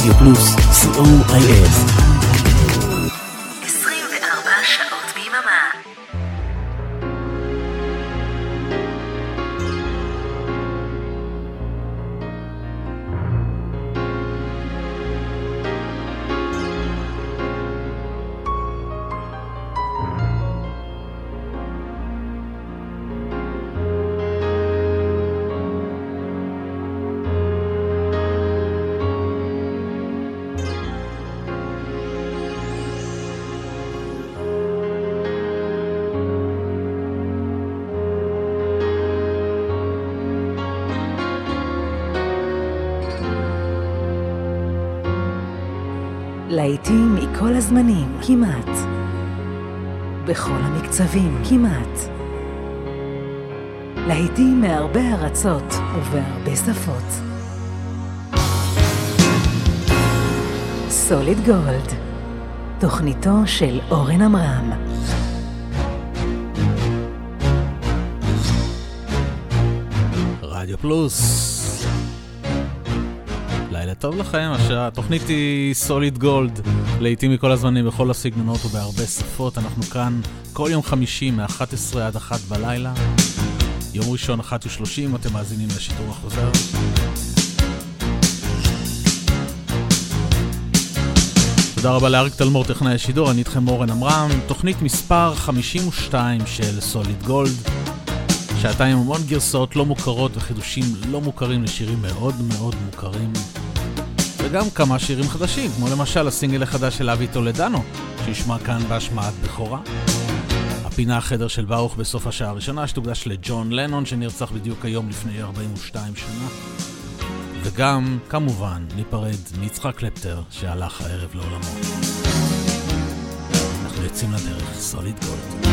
רדיו פלוס, COIS. 24 שעות ביממה. להיטים מכל הזמנים, כמעט. בכל המקצבים, כמעט. להיטים מהרבה ארצות ובהרבה שפות. סוליד גולד, תוכניתו של אורן עמרם. רדיו פלוס. לילה טוב לכם, התוכנית היא סוליד גולד, לעתים מכל הזמנים בכל הסגנונות ובהרבה שפות. אנחנו כאן כל יום חמישי מ-11 עד 1 בלילה, יום ראשון 1:30, אתם מאזינים לשידור החוזר. תודה רבה לאריק תלמור, טכנאי השידור, אני איתכם אורן עמרם. תוכנית מספר 52 של סוליד גולד, שעתיים המון גרסאות לא מוכרות וחידושים לא מוכרים לשירים מאוד מאוד מוכרים, וגם כמה שירים חדשים, כמו למשל הסינגל החדש של אבי טולדנו, שישמע כאן בהשמעת בכורה. הפינה החדר של ברוך בסוף השעה הראשונה, שתוקדש לג'ון לנון, שנרצח בדיוק היום לפני 42 שנה. וגם, כמובן, ניפרד מיצחק קלפטר, שהלך הערב לעולמו. אנחנו יוצאים לדרך, סוליד גולד.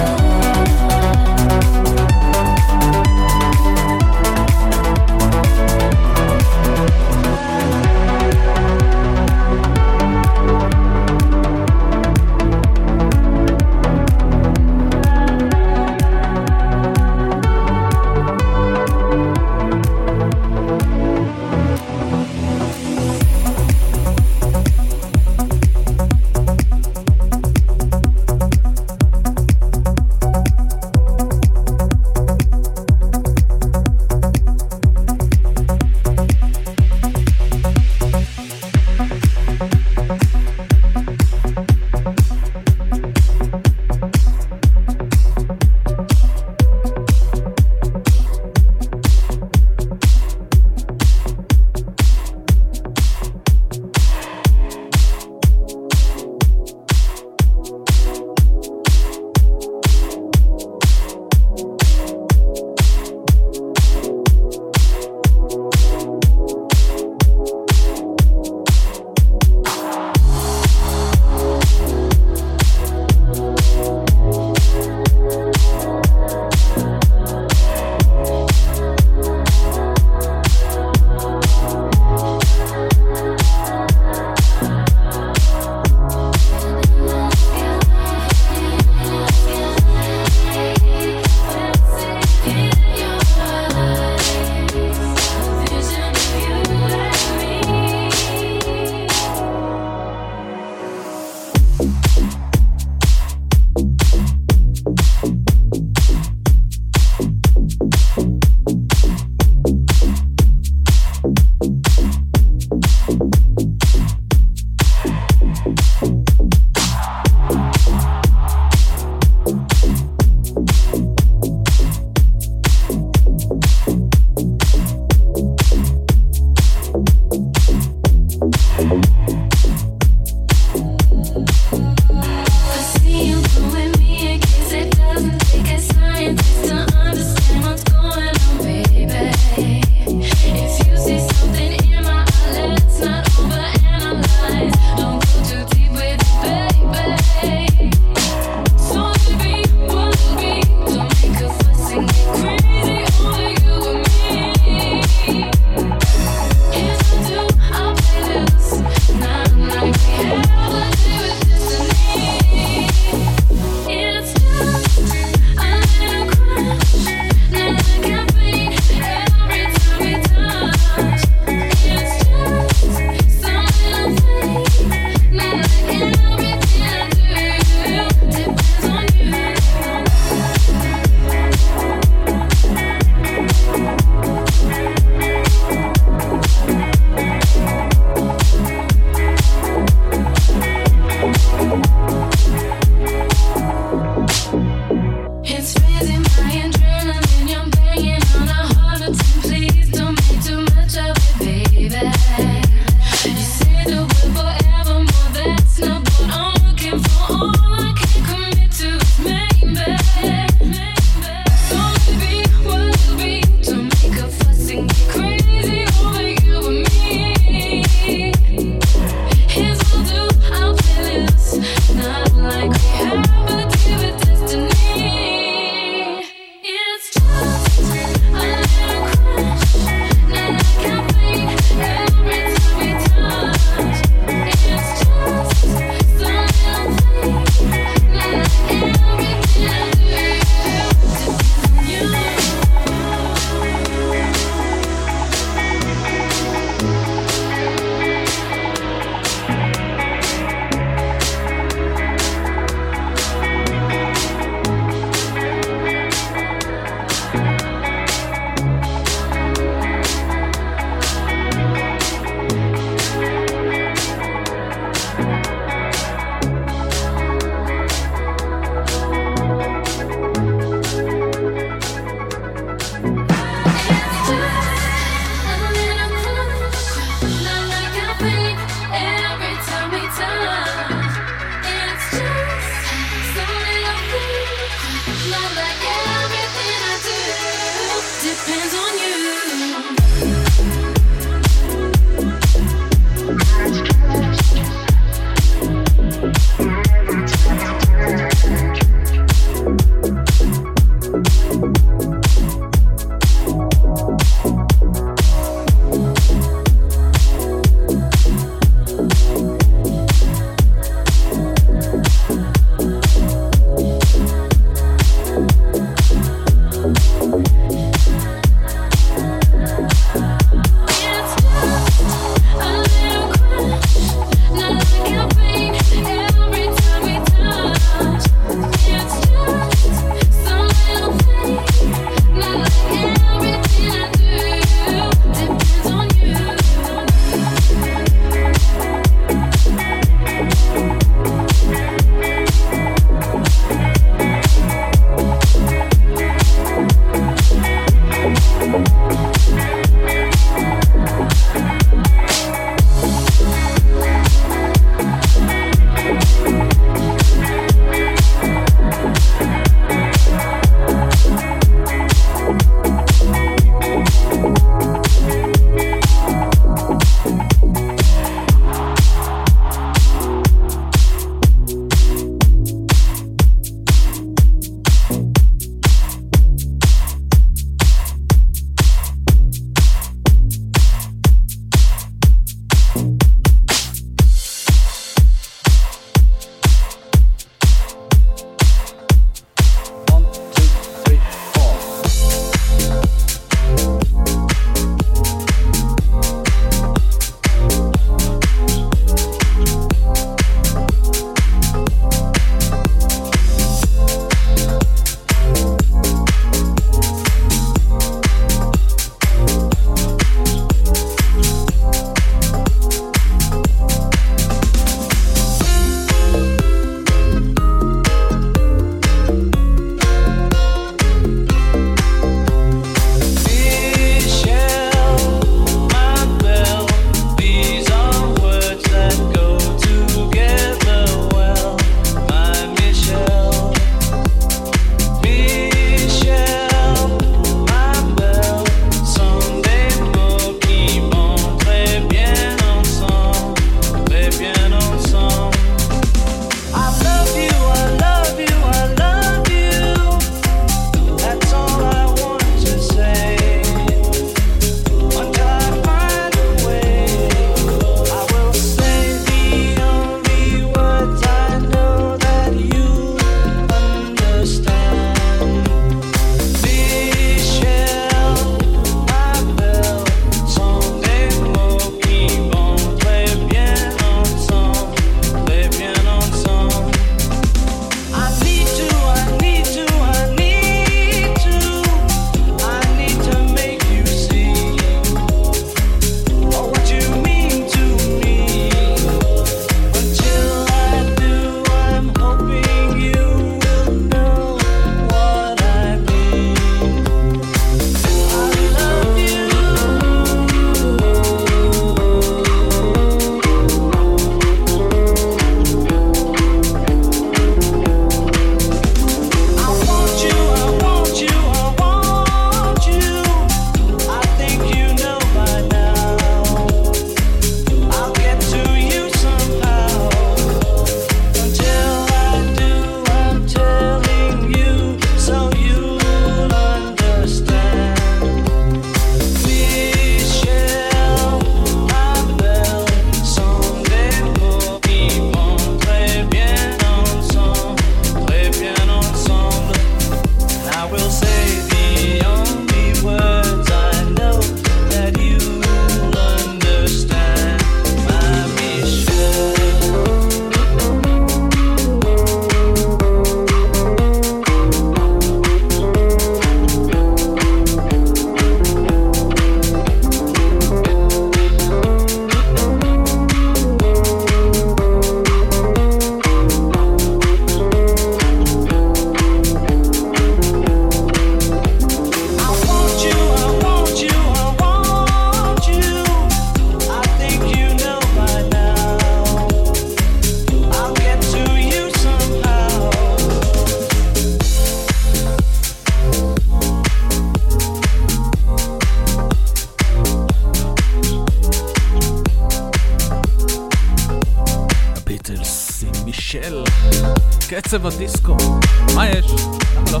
קצב הדיסקו, מה יש? לא.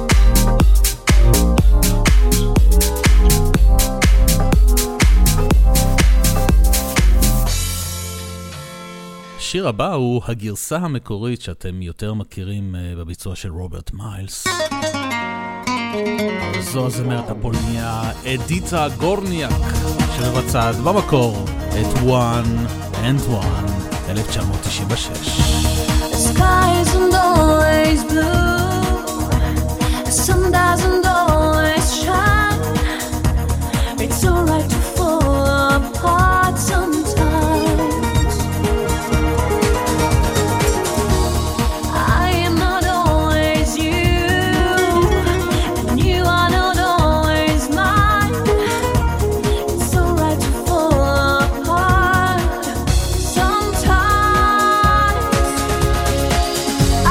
השיר הבא הוא הגרסה המקורית שאתם יותר מכירים בביצוע של רוברט מיילס. זו הזמרת הפולניה אדיטה גורניאק שמבצעת במקור את One and One 1996. The sky isn't always blue, the sun doesn't always shine. It's alright to fall apart sometimes. I am not always you, and you are not always mine. It's alright to fall apart sometimes.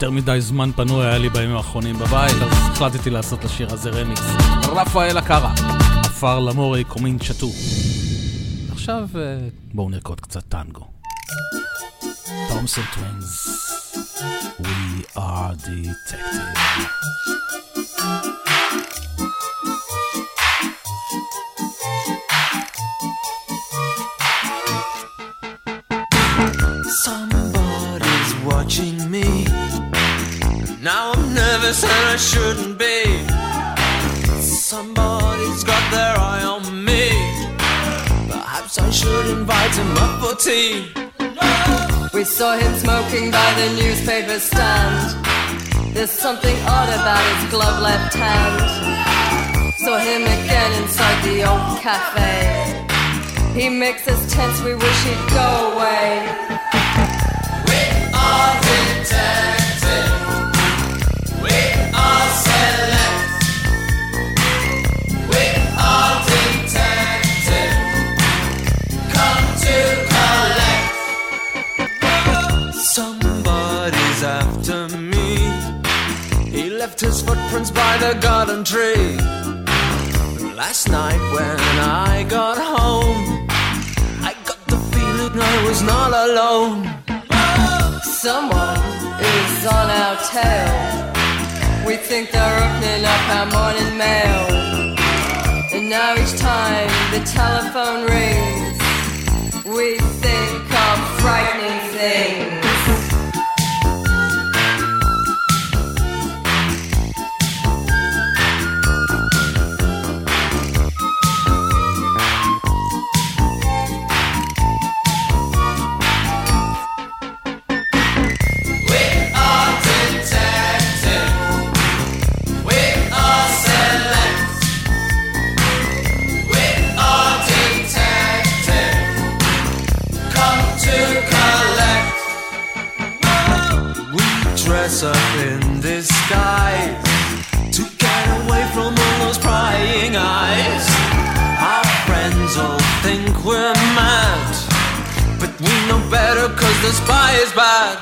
יותר מדי זמן פנוי היה לי בימים האחרונים בבית, אז החלטתי לעשות לשיר הזה רמיקס. רפאל אקרה, עפר למורי קומין צ'טו. עכשיו בואו נרקוד קצת טנגו. תומסון טווינס, We are detective. Somebody's watching me. Now I'm nervous and I shouldn't be. Somebody's got their eye on me. Perhaps I should invite him up for tea. We saw him smoking by the newspaper stand. There's something odd about his glove left hand. Saw him again inside the old cafe. He makes us tense, we wish he'd go away. We are detective. We are select. We are detective. Come to collect. Somebody's after me. He left his footprints by the garden tree. Last night when I got home, I got the feeling I was not alone. Someone is on our tail. We think they're opening up our morning mail. And now each time the telephone rings, we think of frightening things. Up in disguise to get away from all those prying eyes. Our friends all think we're mad, but we know better 'cause the spy is bad.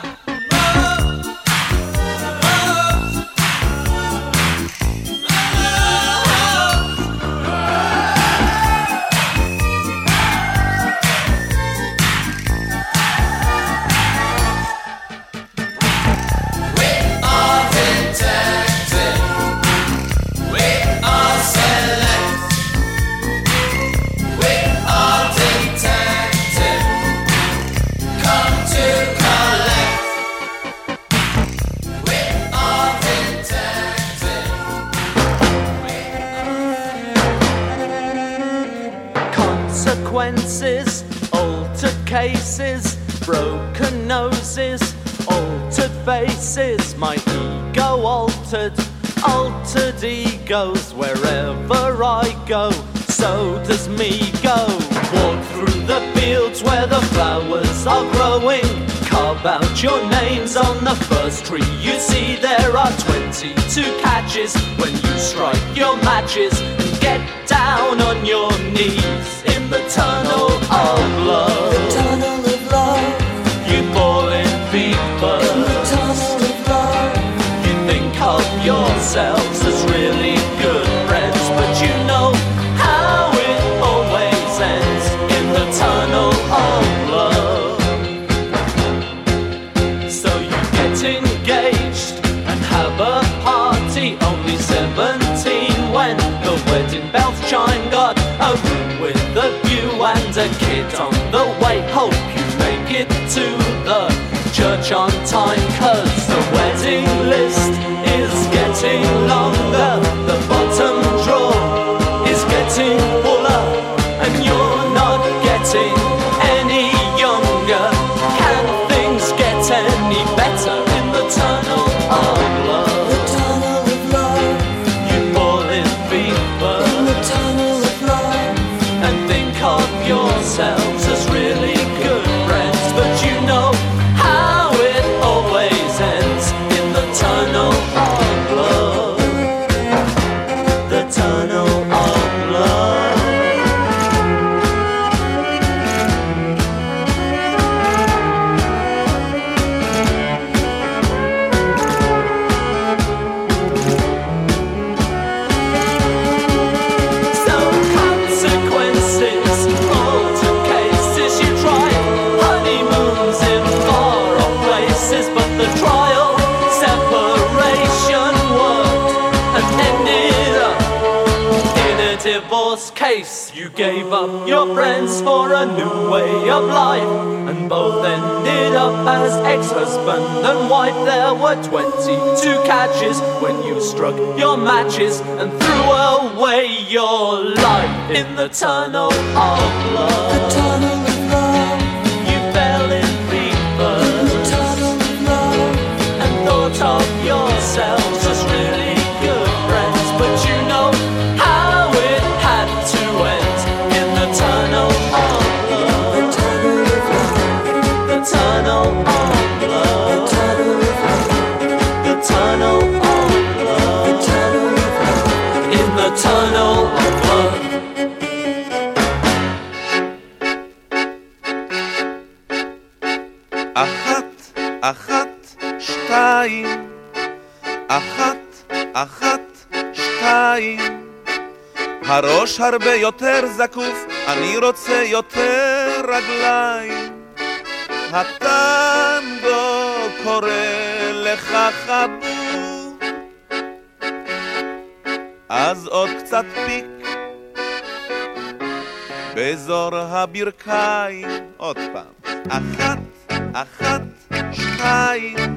Altered cases, broken noses, altered faces, my ego altered, altered egos. Wherever I go, so does me go. Walk through the fields where the flowers are growing. Carve out your names on the first tree you see. There are 22 catches when you strike your matches and get down on your knees in the tunnel of love. The tunnel of love. You fall in fever. In the tunnel of love. You think of yourselves as really good friends, but you know how it always ends in the tunnel of love. So you get engaged and have a party, only 17 when the wedding bells chime. Got a room with a view and a kid on the way. Hope you make it to the church on time, 'cause the wedding list is getting longer. The bottom drawer is getting fuller, and you're not getting any younger. Can things get any better in the tunnel of love? The tunnel of love. You fall in fever. In the tunnel of love. And think of yourselves as really good friends, but you know how it always divorce case. You gave up your friends for a new way of life, and both ended up as ex-husband and wife. There were 22 catches when you struck your matches and threw away your life in the tunnel of love. The tunnel of love. You fell in fever. The tunnel of love. And thought of yourselves as really good friends, but you know how it had to end in the tunnel of love. The tunnel of love. The tunnel of love. The tunnel of love. The tunnel of love. The tunnel of love. In the tunnel of love. אחת, שתיים. הראש הרבה יותר זקוף, אני רוצה יותר רגליים. הטנגו קורא לך חבוב, אז עוד קצת פיק באזור הברכיים. עוד פעם. אחת, שתיים.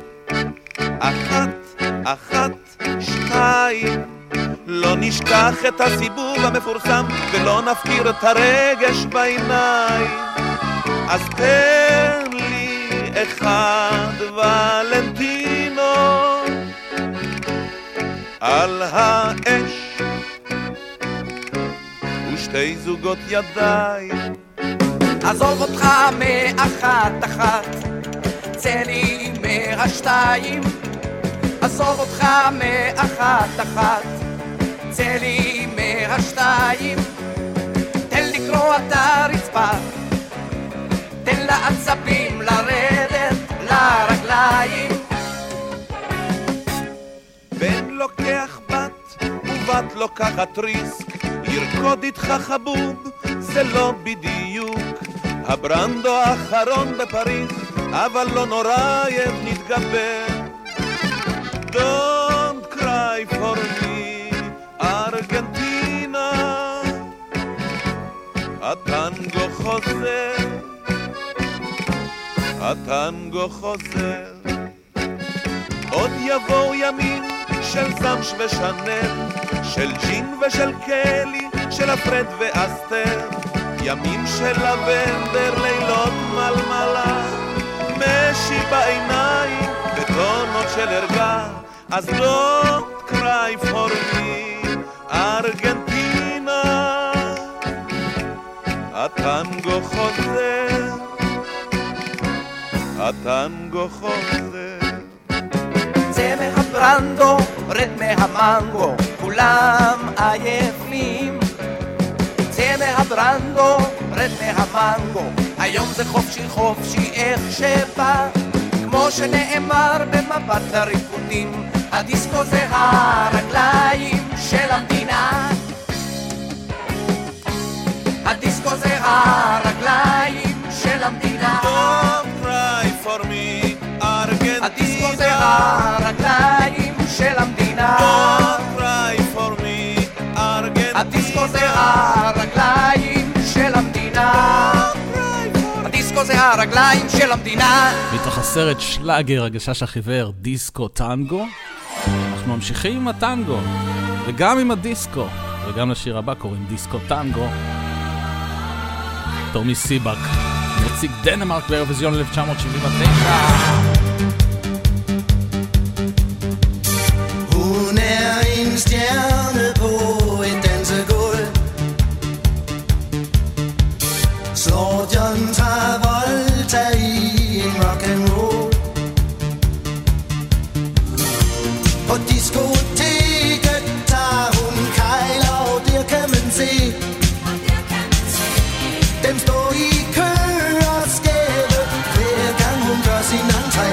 אחת, שתיים. לא נשכח את הסיבוב המפורסם ולא נפקיר את הרגש בעיניים. אז תן לי אחד ולנטינו על האש ושתי זוגות ידיים. עזוב אותך מאחת, צא לי מהשתיים. עזוב אותך מאחת, צא לי מהשתיים. תן לקרוא את הרצפה, תן לעצבים לרדת לרגליים. בן לוקח בת ובת לוקחת ריסק, ירקוד איתך חבוב זה לא בדיוק הברנדו האחרון בפריז, אבל לא נורא נתגבר. Don't cry for me, ארגנטינה, הטנגו חוזר, הטנגו חוזר. עוד יבואו ימים של זמש ושנל, של ג'ין ושל קלי, של אפרד ואסתר. ימים של לבנדר, לילות מלמלה, משי בעיניים וטונות של הרגע. אז don't cry for me, ארגנטינה, הטנגו חוזר, הטנגו חוזר. צא מהברנדו, רד מהמנגו, כולם עייפים. צא מהברנדו, רד מהמנגו, היום זה חופשי חופשי איך שבא. כמו שנאמר במבט הריקודים, הדיסקו זה הרגליים של המדינה. הדיסקו זה הרגליים של המדינה. Don't cry for me, ארגנטינה. הדיסקו זה הרגליים של המדינה. Don't cry for me, ארגנטינה. הדיסקו זה הרגליים של המדינה. הדיסקו זה הרגליים של המדינה. מתוך הסרט שלאגר הגשש החיוור, דיסקו טנגו. אנחנו ממשיכים עם הטנגו וגם עם הדיסקו, וגם לשיר הבא קוראים דיסקו טנגו. תומי סיבק נציג דנמרק באירוויזיון 1979. Hun en stjerne på et dansegulv, slår John Travolta i en rock'n'roll. På diskoteket tager hun kejler, og der kan man se dem stå i kø og skæve, hver gang hun gør sin entré.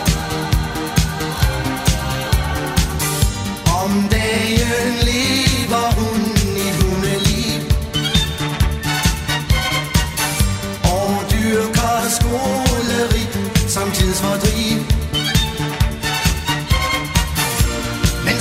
Om dagen lever hun et hundeliv og dyrker skoleri som tidsfordriv.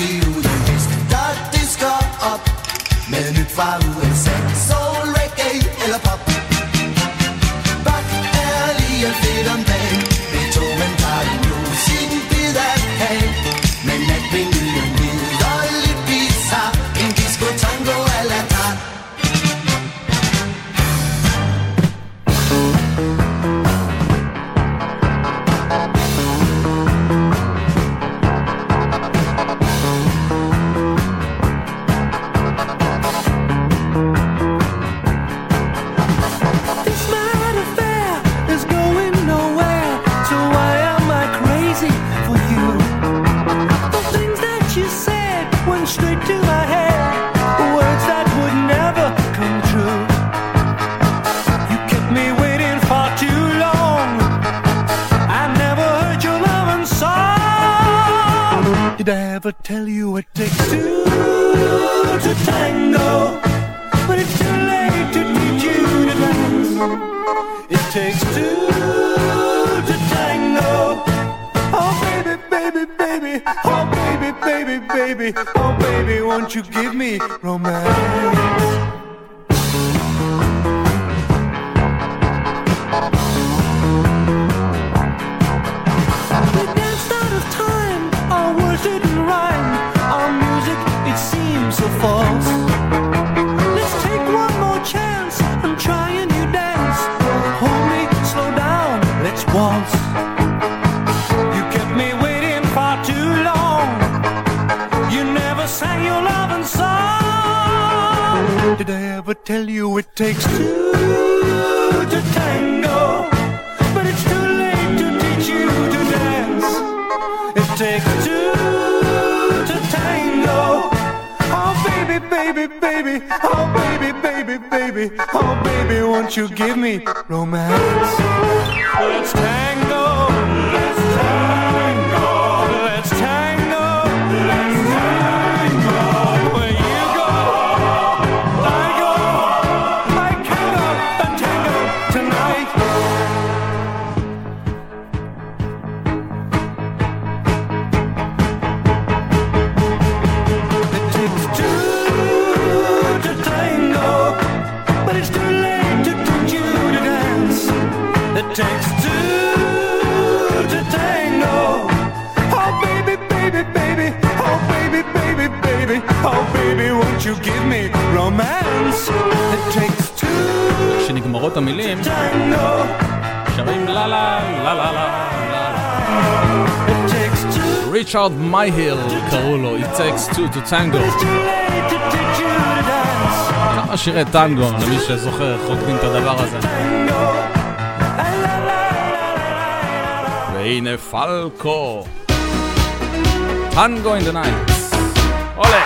give ud og hvis der disker op med nyt fra USA, soul, reggae eller pop. Bak er lige fedt om dagen, Beethoven tager den nu sin bid af kagen. Men natvinden hvid og lidt bizarre, en disco tango a la carte. Did I ever tell you it takes two to tango? But it's too late to teach you to dance. It takes two to tango. Oh baby, baby, baby. Oh baby, baby, baby. Oh baby, won't you give me romance? So false. Let's take one more chance and try a new dance. Hold me, slow down, let's waltz. You kept me waiting far too long. You never sang your loving song. Did I ever tell you it takes two to tango? But it's too late to teach you to dance. It takes two to tango. Oh baby, baby, baby, oh baby, baby, baby, oh baby, won't you give me romance? Let's tango, let's tango, let's tango, let's tango. Where you go, I go, I can go and tango tonight. It takes two to tango. Oh baby, baby, baby. Oh baby, baby, baby. Oh baby, won't you give me romance? It takes two. כשנגמרות המילים שרים לה לה לה לה לה. ריצ'רד מייהיל קראו לו It Takes Two to Tango. כמה שירי טנגו למי שזוכר חוקדים את הדבר הזה. והנה פלקו טנגו in the night. עולה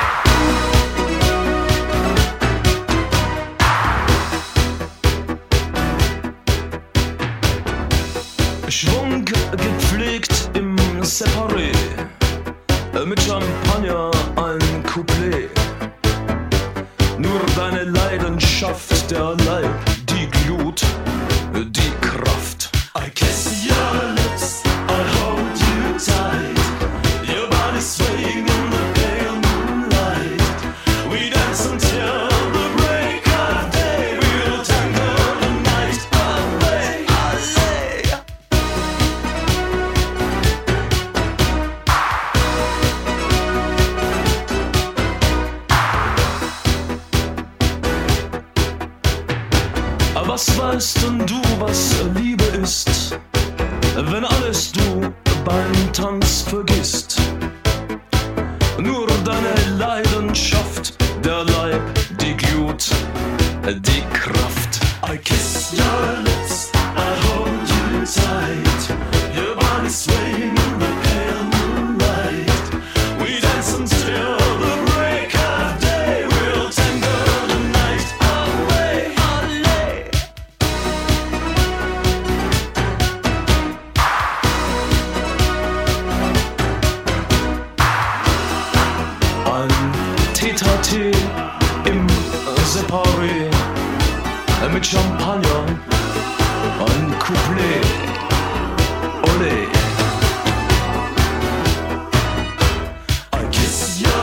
Schwung gepflegt im Separé, mit Champagner ein Couplet. Nur deine Leidenschaft, der Leib, die Glut, die Kraft. I kiss your lips, I hold you tight. Your body swaying in the pale moonlight. We dance until the break of day. We'll tango the night away. Was weißt denn du, was Liebe ist, wenn alles du beim Tanz vergisst? Nur deine Leidenschaft, der Leib, die Glut, die Kraft. I kiss your lips, I hold you tight. Your body swaying in the pale moonlight. We dance until the break of day. We'll tango the night away. Tee im Separé, mit Champagner, ein Couplet, olé. I kiss you.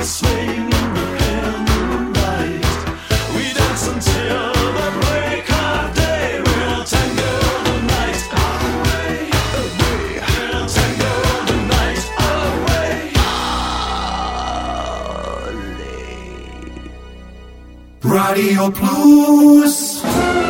swing in the pale moonlight. We dance until the break of day. We'll tango the night away, away. We'll tango the night away. רדיו פלוס.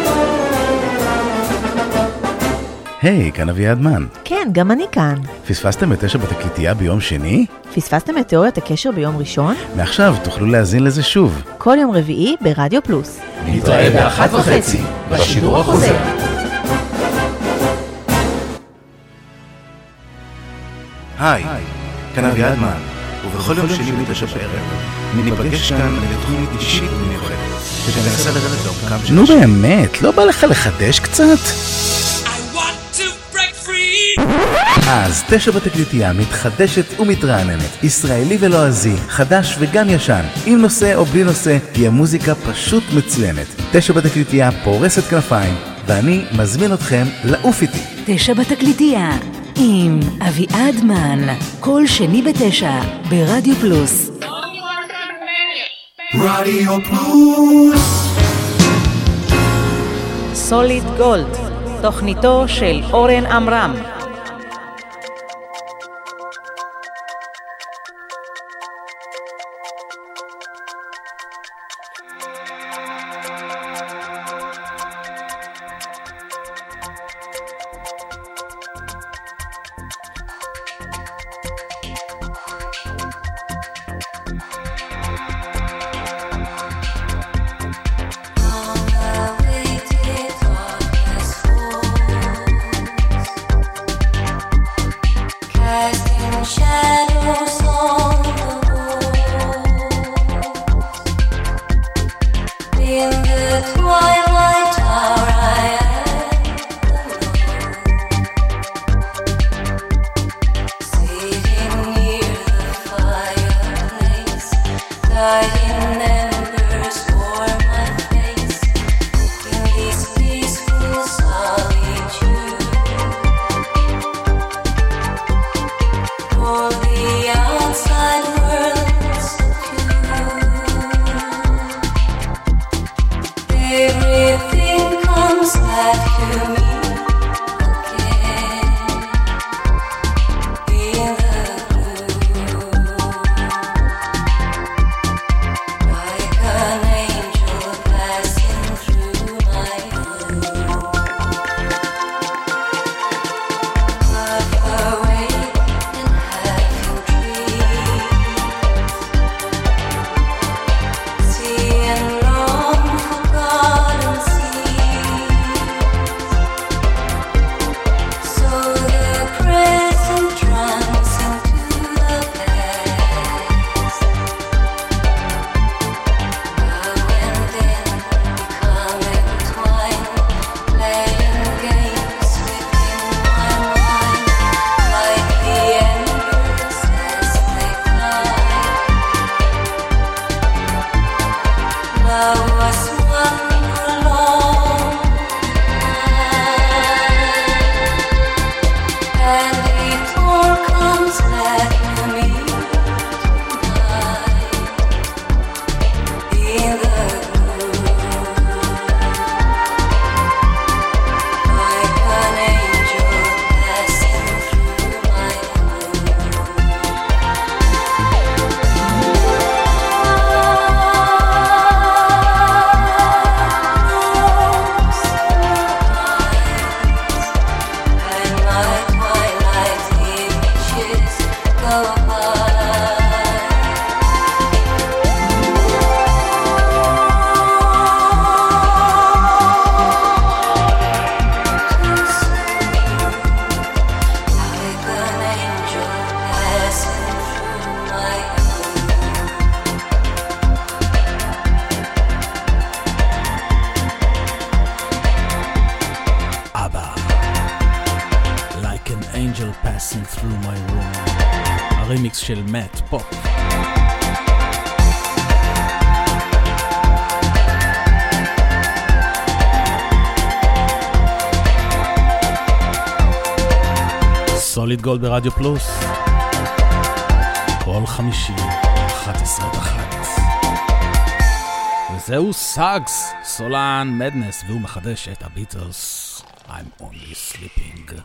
היי, כאן אביעד מן. כן, גם אני כאן. פספסתם את 9 בתקליטייה ביום שני? פספסתם את תיאוריית הקשר ביום ראשון? מעכשיו תוכלו להאזין לזה שוב. כל יום רביעי ברדיו פלוס. נתראה ב-1:30 בשידור החוזר. היי, כאן אביעד מן, ובכל יום שני ב-9 בערב ניפגש כאן לתוכנית אישית ומיוחדת שתנסה לרדת לעומקם של... נו באמת, לא בא לך לחדש קצת? אז 9 בתקליטייה מתחדשת ומתרעננת, ישראלי ולועזי, חדש וגם ישן, עם נושא או בלי נושא, תהיה מוזיקה פשוט מצוינת. 9 בתקליטייה פורסת כנפיים, ואני מזמין אתכם לעוף איתי. 9 בתקליטייה עם אביעד מן, כל שני ב9 ברדיו פלוס. רדיו פלוס. סוליד גולד, תוכניתו של אורן עמרם. הרימיקס של מאט פופ. סוליד גולד ברדיו פלוס, כל חמישי 11:01. וזהו סאגס, סולן מדנס, והוא מחדש את הביטלס, I'm only sleeping.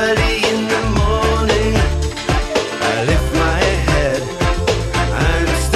I'm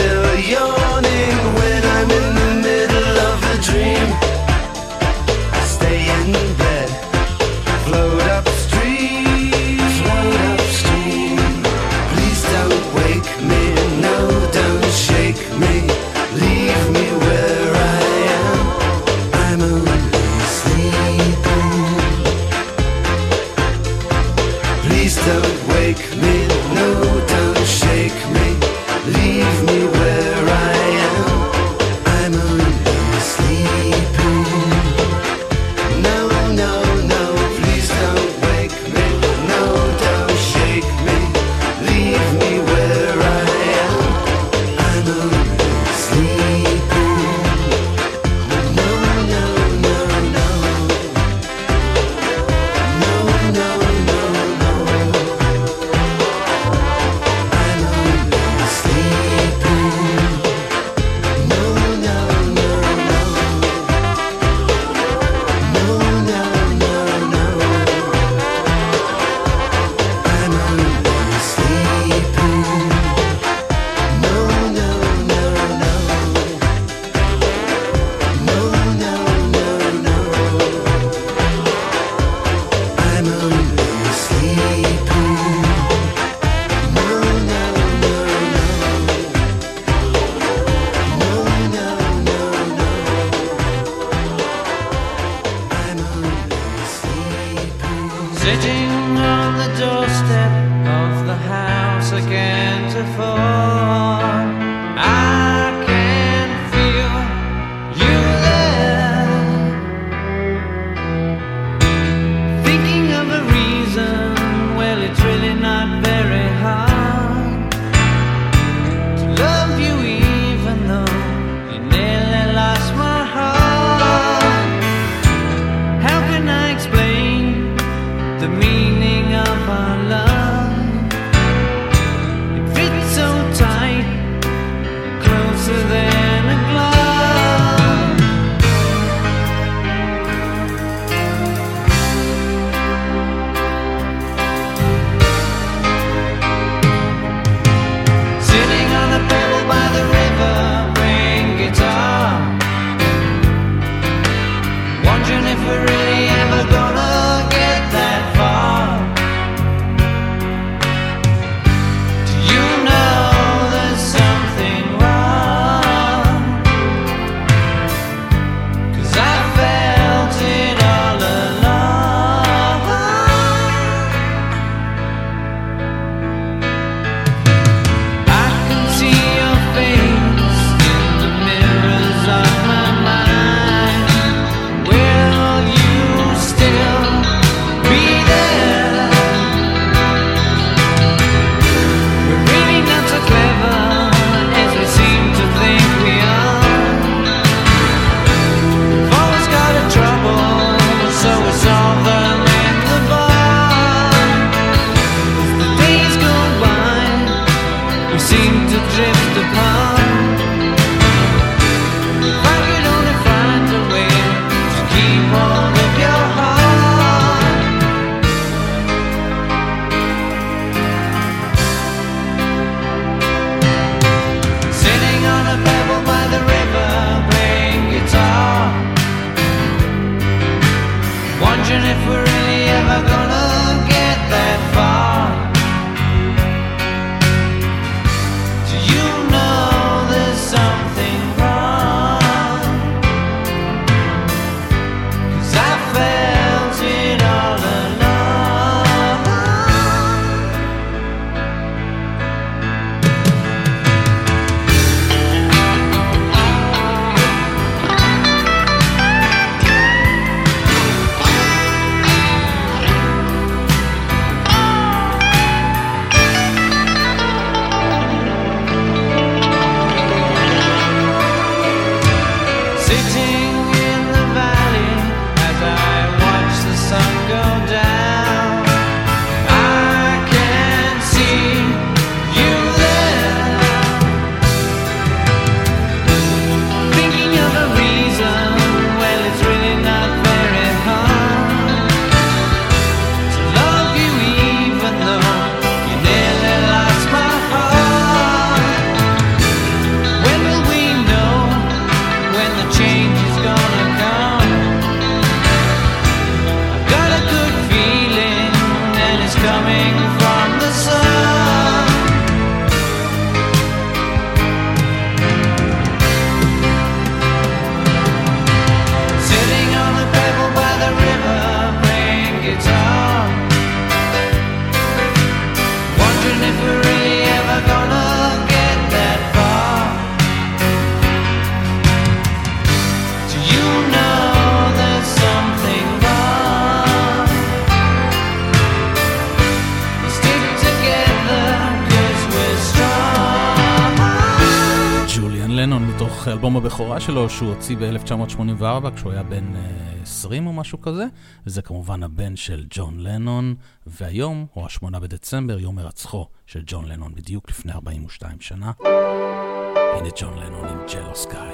מתוך אלבום הבכורה שלו שהוא הוציא ב-1984 כשהוא היה בן 20 או משהו כזה, וזה כמובן הבן של ג'ון לנון, והיום הוא 8 בדצמבר, יום הרצחו של ג'ון לנון בדיוק לפני 42 שנה. הנה ג'ון לנון עם ג'לו סקאי.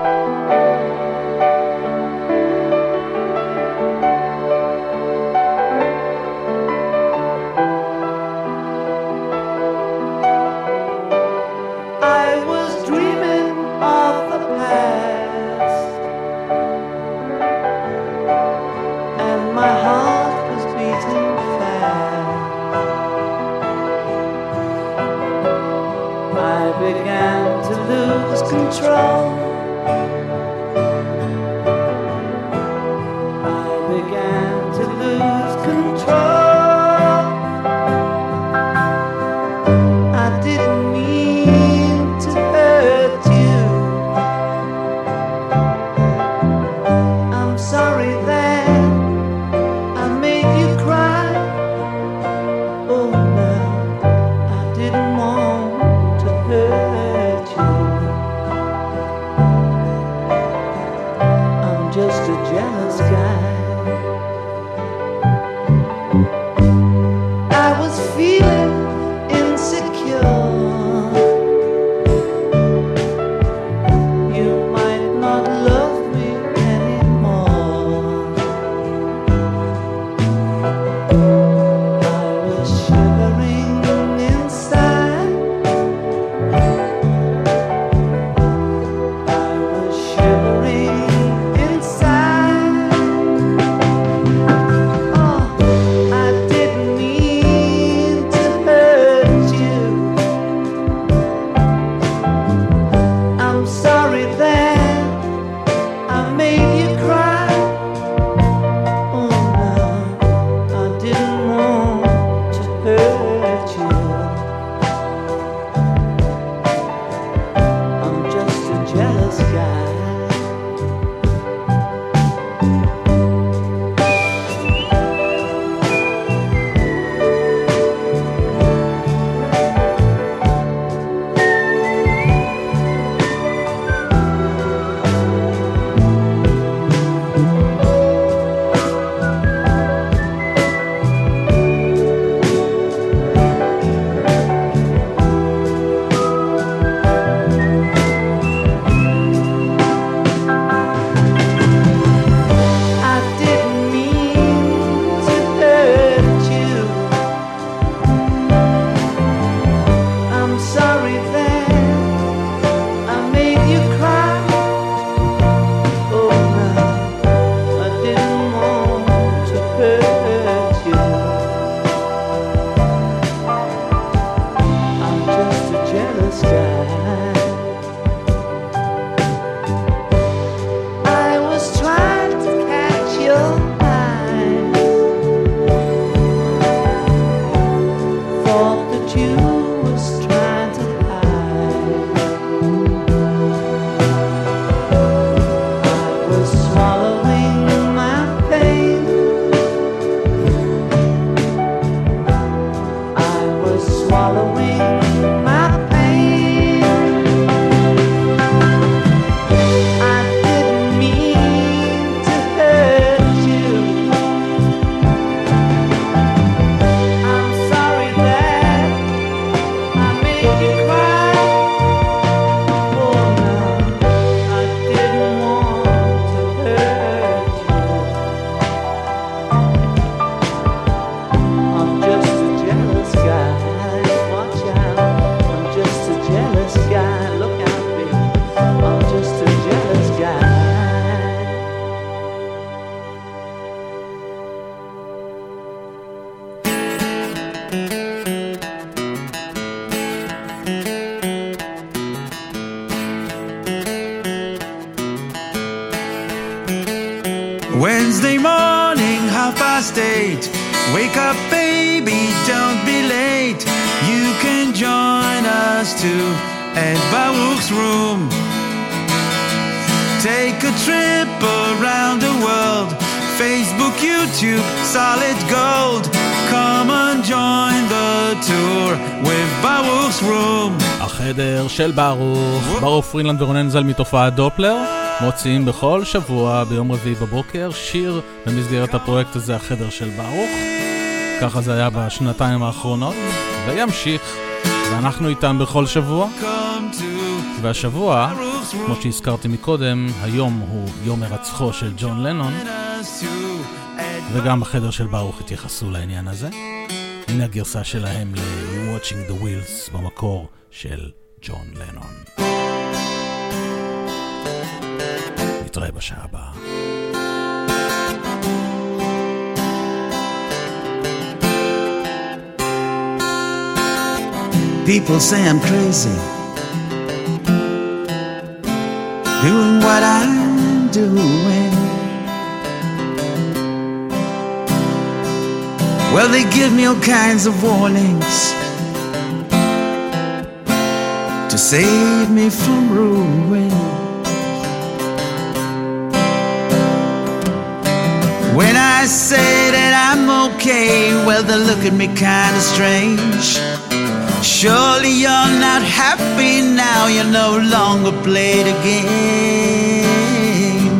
Control. I began to lose control. I didn't mean to hurt you. I'm sorry that I made you cry. Oh no, I didn't want to hurt you. Just a jealous guy. I was feeling insecure. You might not love me anymore. I was shivering inside. I was shivering. Wednesday morning, 8:30. Wake up, baby, don't be late. You can join us too at Baruch's room. Take a trip around the world. Facebook, YouTube, solid gold. Come and join the tour with Baruch's room. החדר של ברוך פרילנד ורונן זל מתופעת דופלר מוציאים בכל שבוע ביום רביעי בבוקר שיר במסגרת הפרויקט הזה, החדר של ברוך. ככה זה היה בשנתיים האחרונות וימשיך, ואנחנו איתם בכל שבוע. והשבוע, כמו שהזכרתי מקודם, היום הוא יום הרצחו של ג'ון לנון, וגם בחדר של ברוך התייחסו לעניין הזה. הנה הגרסה שלהם ל-Watching the Wheels במקור של ג'ון לנון. נתראה בשעה הבאה. People say I'm crazy, doing what I'm doing. Well, they give me all kinds of warnings to save me from ruin. When I say that I'm okay, well, they look at me kind of strange. Surely you're not happy now, you no longer play the game.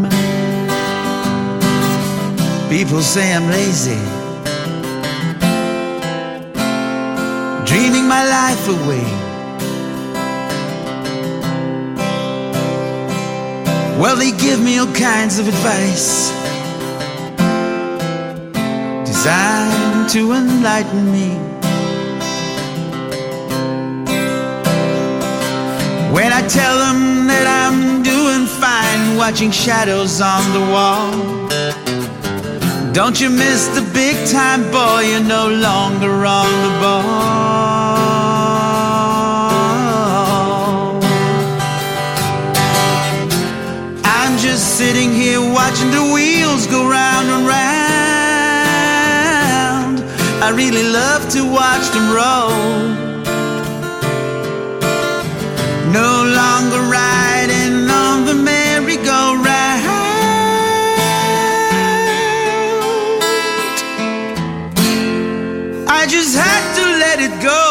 People say I'm lazy, dreaming my life away. Well, they give me all kinds of advice designed to enlighten me. When I tell them that I'm doing fine, watching shadows on the wall, don't you miss the big time, boy, you're no longer on the ball. I'm just sitting here watching the wheels go round and round. I really love to watch them roll. No longer riding on the merry-go-round. I just had to let it go.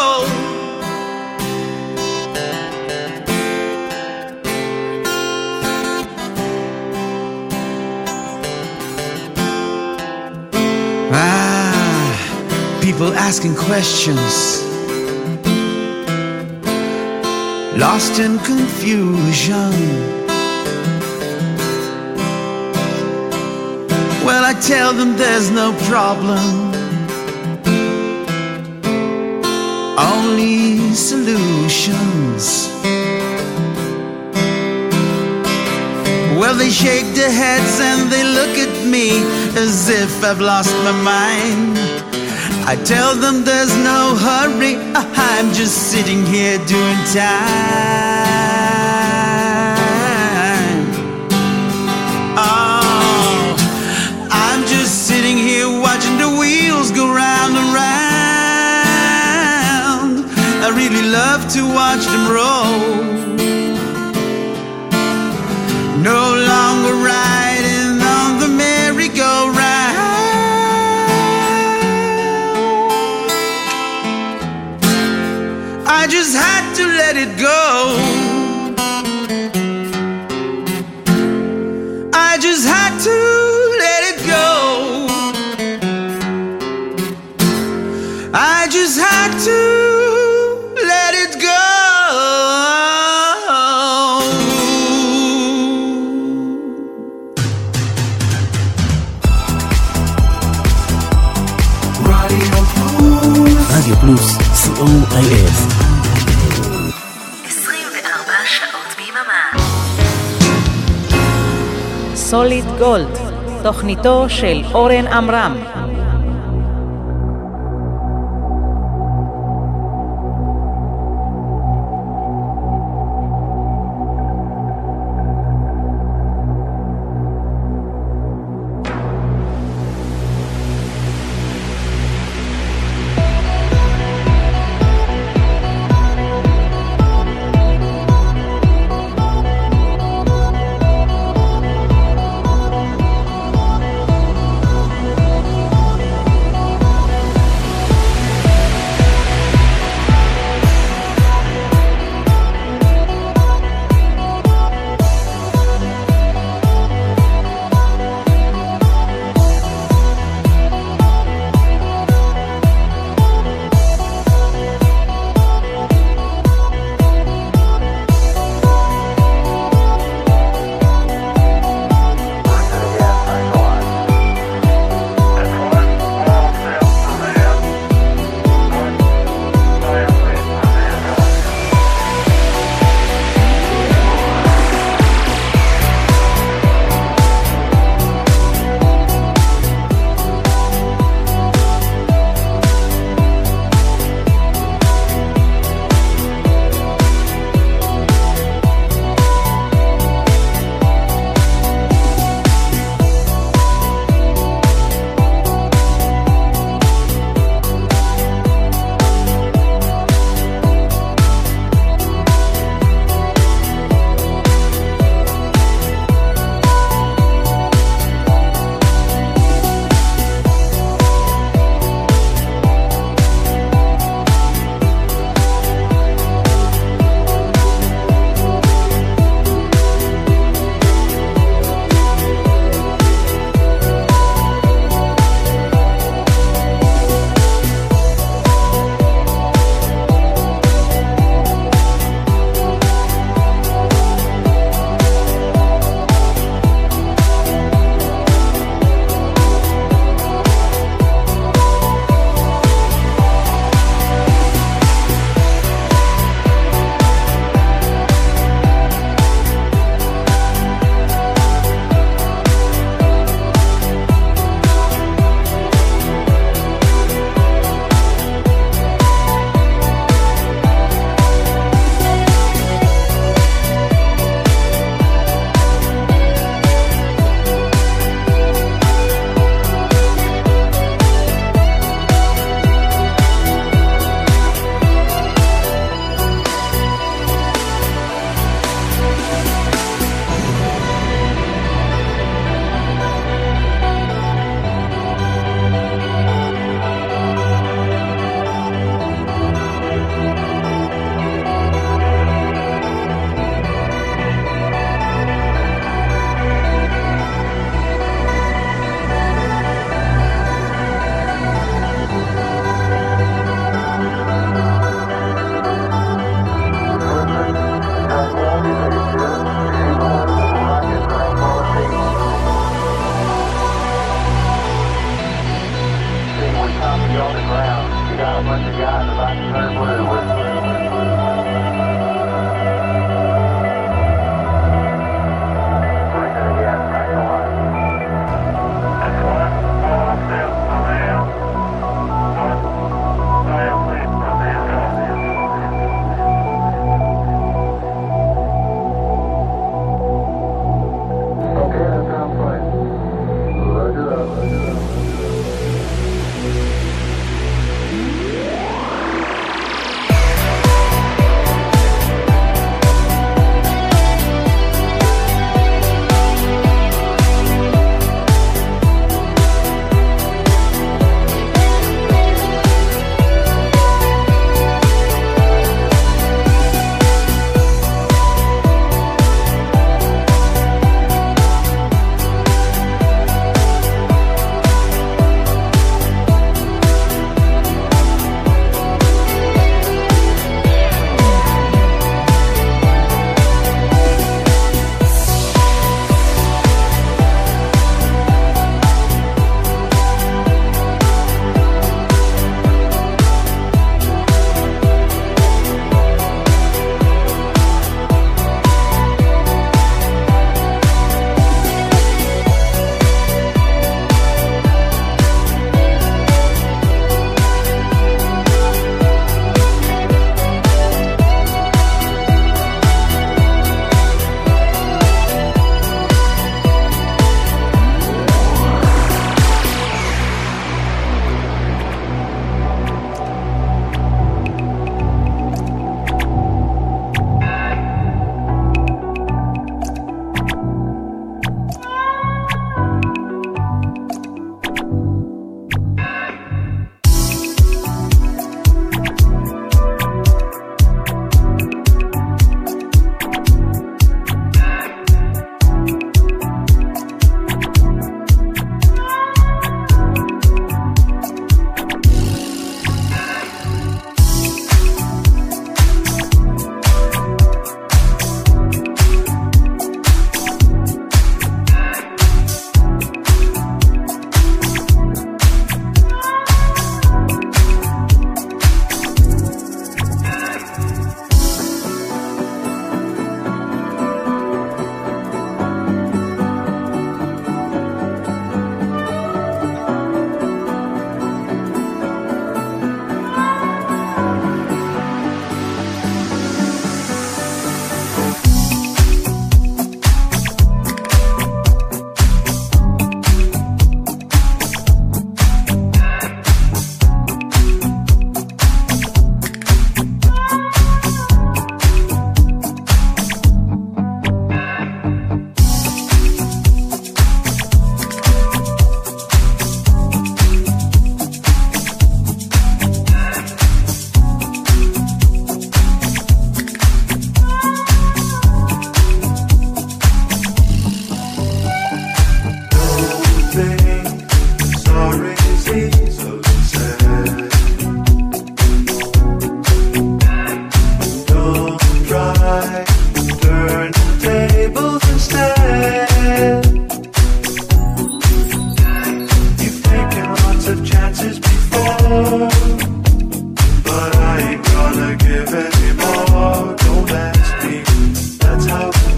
People asking questions, lost in confusion. Well, I tell them there's no problem, only solutions. Well, they shake their heads and they look at me as if I've lost my mind. I tell them there's no hurry, I'm just sitting here doing time. Oh, I'm just sitting here watching the wheels go round and round. I really love to watch them roll. No longer riding on the merry-go-round. I just had to let it go. I just had to let it go. I just had to let it go. רדיו פלוס, COIF. 24 שעות ביממה. סוליד גולד, תוכניתו של אורן עמרם.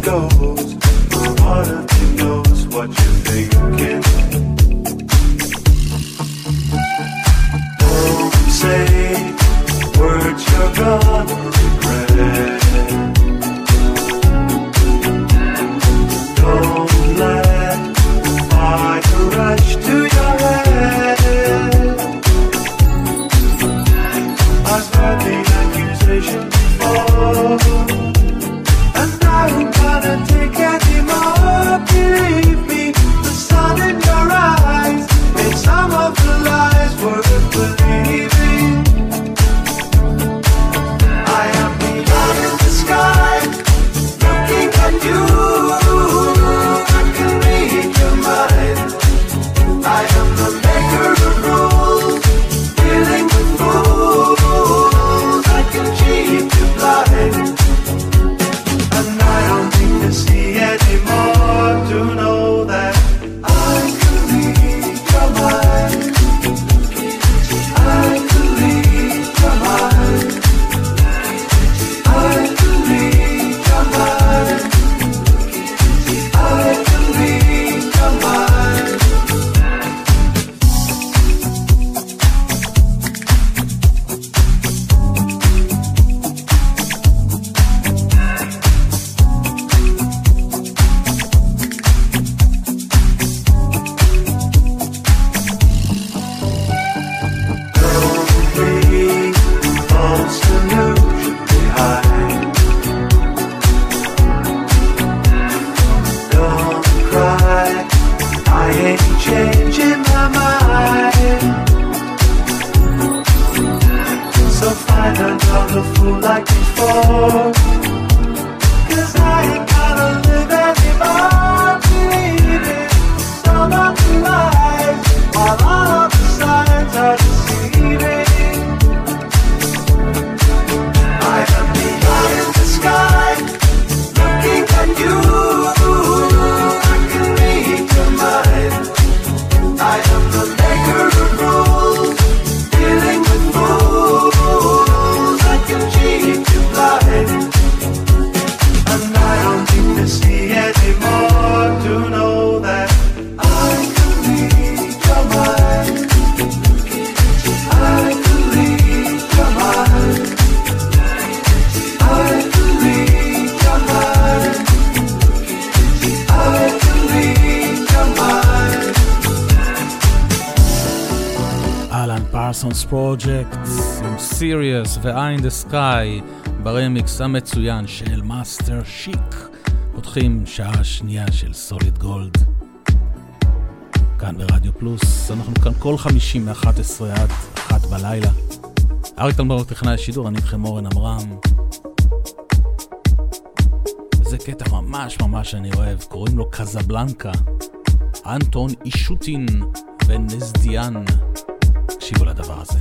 goes. Part of me knows what you're thinking. Don't say words you're gonna regret. Don't let fire rush to your head. I've heard the accusation before, and I ain't gonna take any more. Believe me, the sun in your eyes made some of the lies worth believing. I am the eye in the sky, looking at you. I can read your mind. I am the maker of rules, dealing with fools. I can keep you blind, and I don't need to see anymore to know that I can read your mind. I can read your mind. I can read your mind. I can read your mind. Don't leave false illusion behind. Don't cry, I ain't changing my mind. So find another fool like before, 'cause I ain't gonna live anymore. Believe it, some of the lies, while all of the signs are deceiving. I am the eye in the sky, looking at you. I can read your mind. I am the maker of rules, dealing with fools. I can keep you blind, and I don't need to see anymore to know that I can read your mind. I can read your mind. I can read your mind. I can read your mind. אלן פרסונס פרוג'קט עם סיריוס ו-Eye in the Sky ברמיקס המצוין של מאסטר שיק. פותחים שעה שנייה של סוליד גולד כאן ברדיו פלוס. אנחנו כאן כל 50 מ-11 עד 1 בלילה. אריק תלמור טכנאי השידור, אני איתכם אורן עמרם. זה קטע ממש אני אוהב, קוראים לו קזבלנקה. אנטון אישוטין ונזדיאן. תקשיבו לדבר הזה.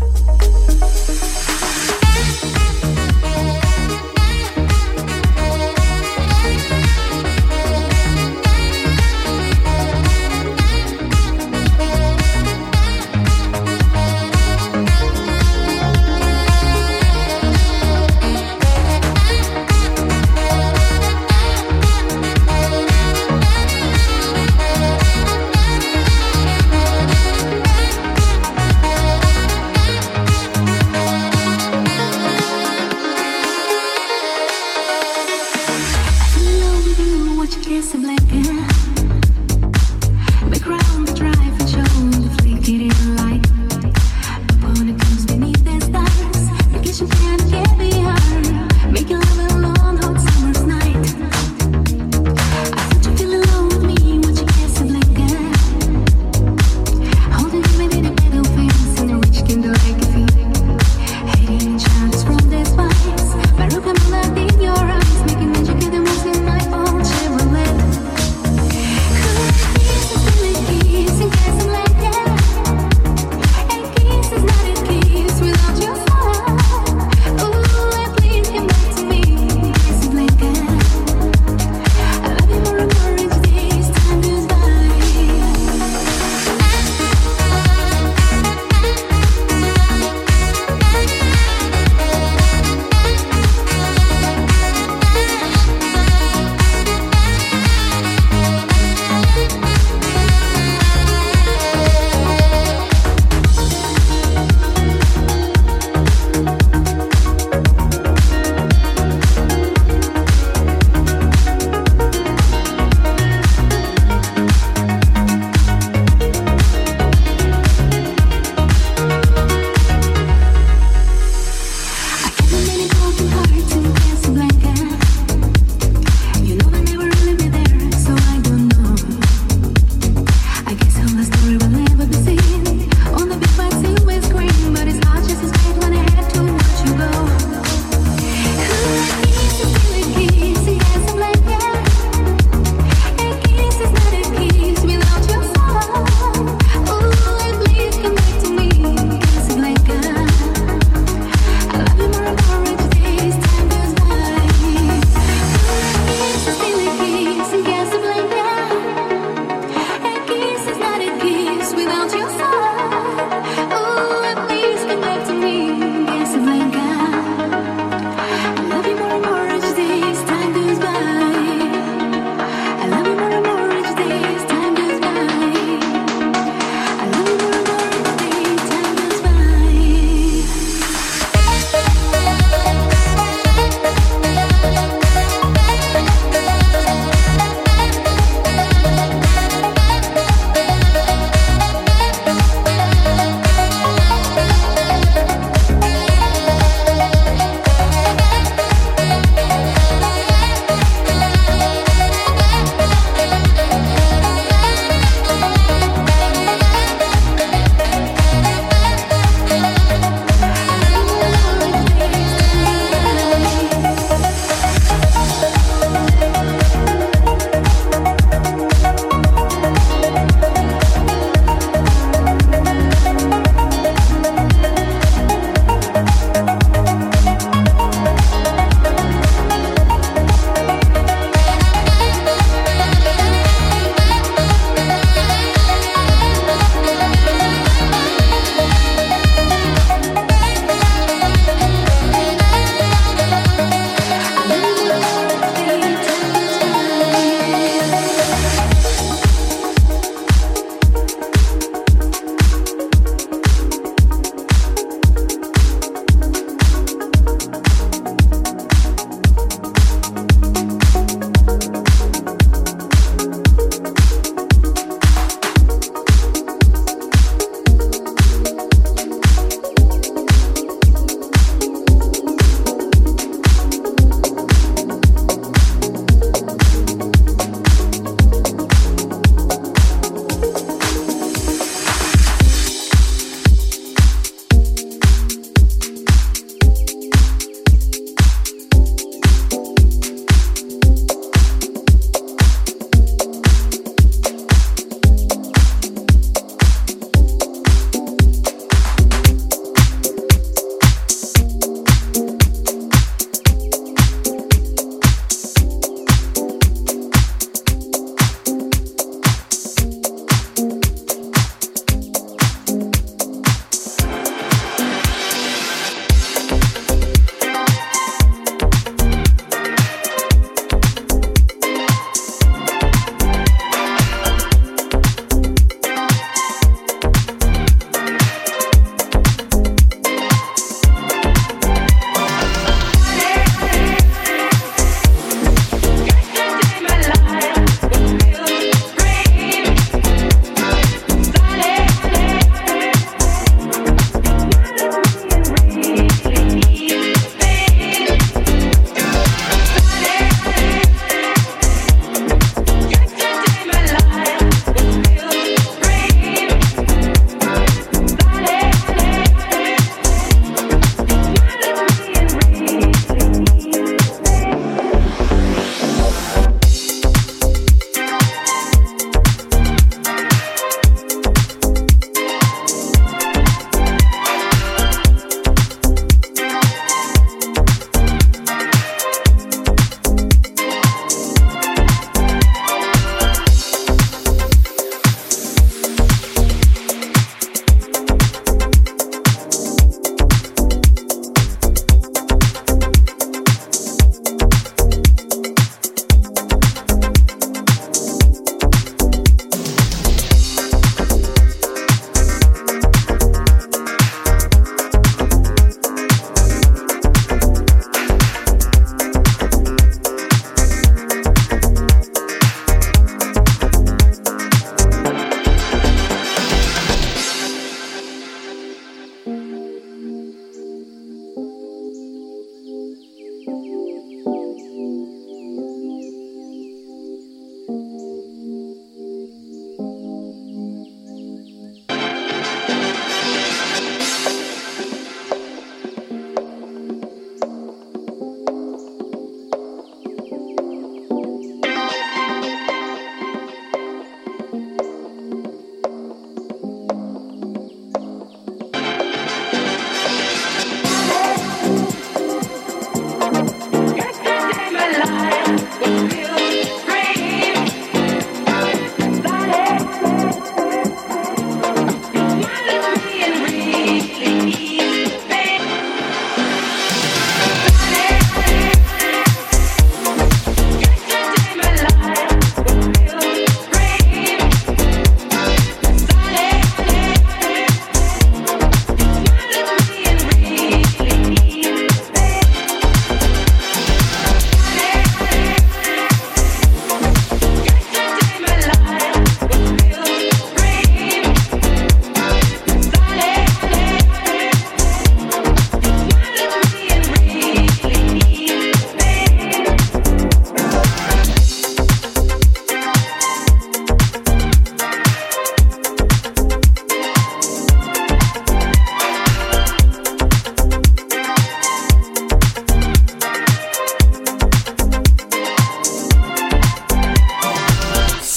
Your eyes making magic in the moves in my own Chevrolet.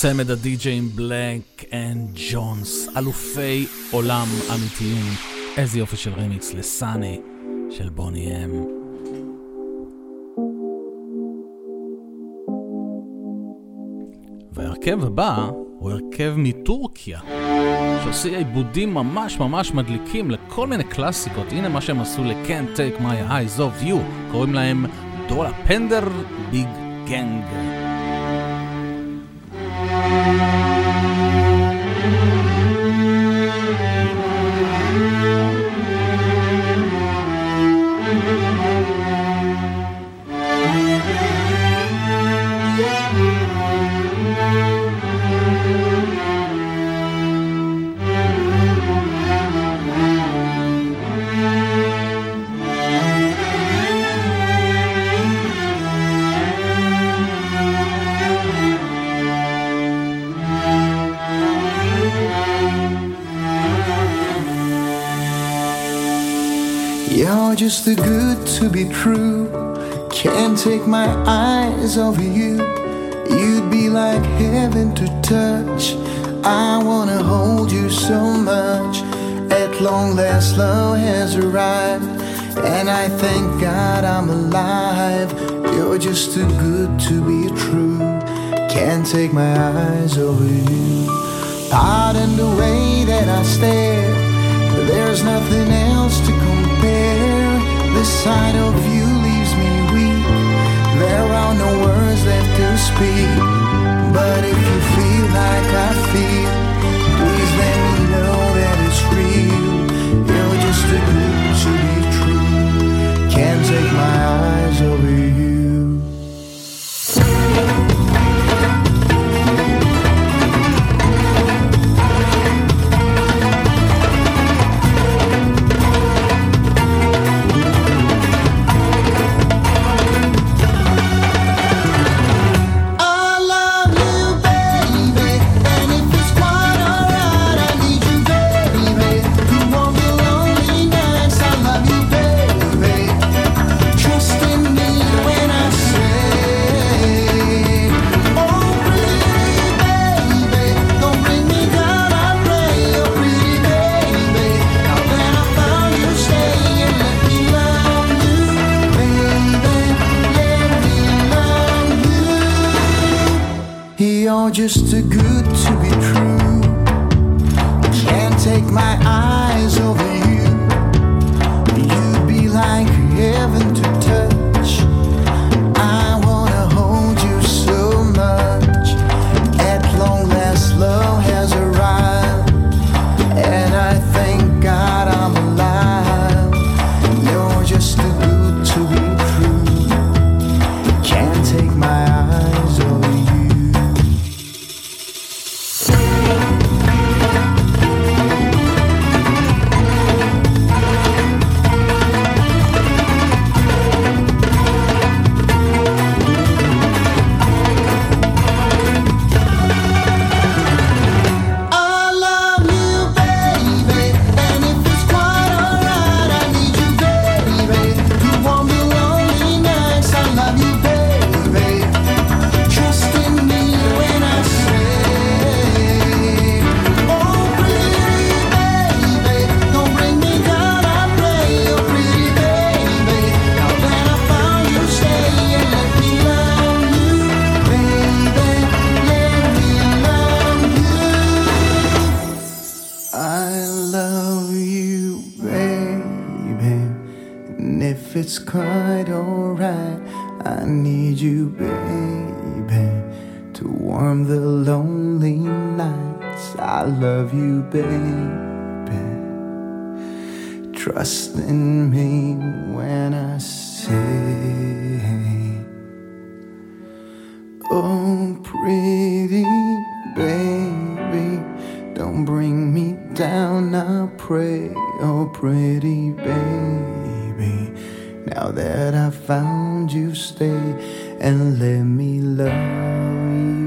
צמד הדי-ג'יים בלק אנד ג'ונס, אלופי עולם אמיתיים. איזה יופי של רימיקס לסאני של בוני אם. והרכב הבא הוא הרכב מטורקיה, שעושה עיבודים ממש ממש מדליקים לכל מיני קלאסיקות. הנה מה שהם עשו ל-Can't Take My Eyes Off You, קוראים להם דולה פנדר ביג גנג. You're just too good to be true. Can't take my eyes off you. You'd be like heaven to touch. I wanna hold you so much. At long last love has arrived, and I thank God I'm alive. You're just too good to be true. Can't take my eyes over you. Pardon the way that I stare, there's nothing else to compare. The sight of you leaves me weak. There are no words left to speak. But if you feel like I feel, please let me know that it's real. You're just too good to be true. Can't take my eyes over you. Just too good to be true. Can't take my eyes over you. You'd be like heaven to touch. I wanna hold you so much. At long last love has arrived, and I thank God I'm alive. You're just too good to be true. Can't take my eyes over you. It's quite alright. I need you, baby, to warm the lonely nights. I love you, baby. Trust in me when I say, oh, pretty baby, don't bring me down, I pray. Oh, pretty baby, now that I found you, stay and let me love you.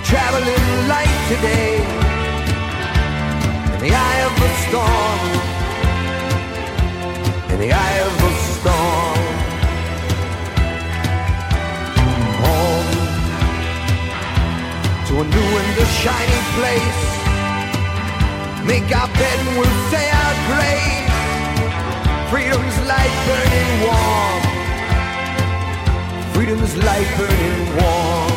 traveling light today in the eye of the storm, in the eye of the storm. Home to a new and a shiny place. Make our bed and we'll say our grace. Freedom's light burning warm. Freedom's light burning warm.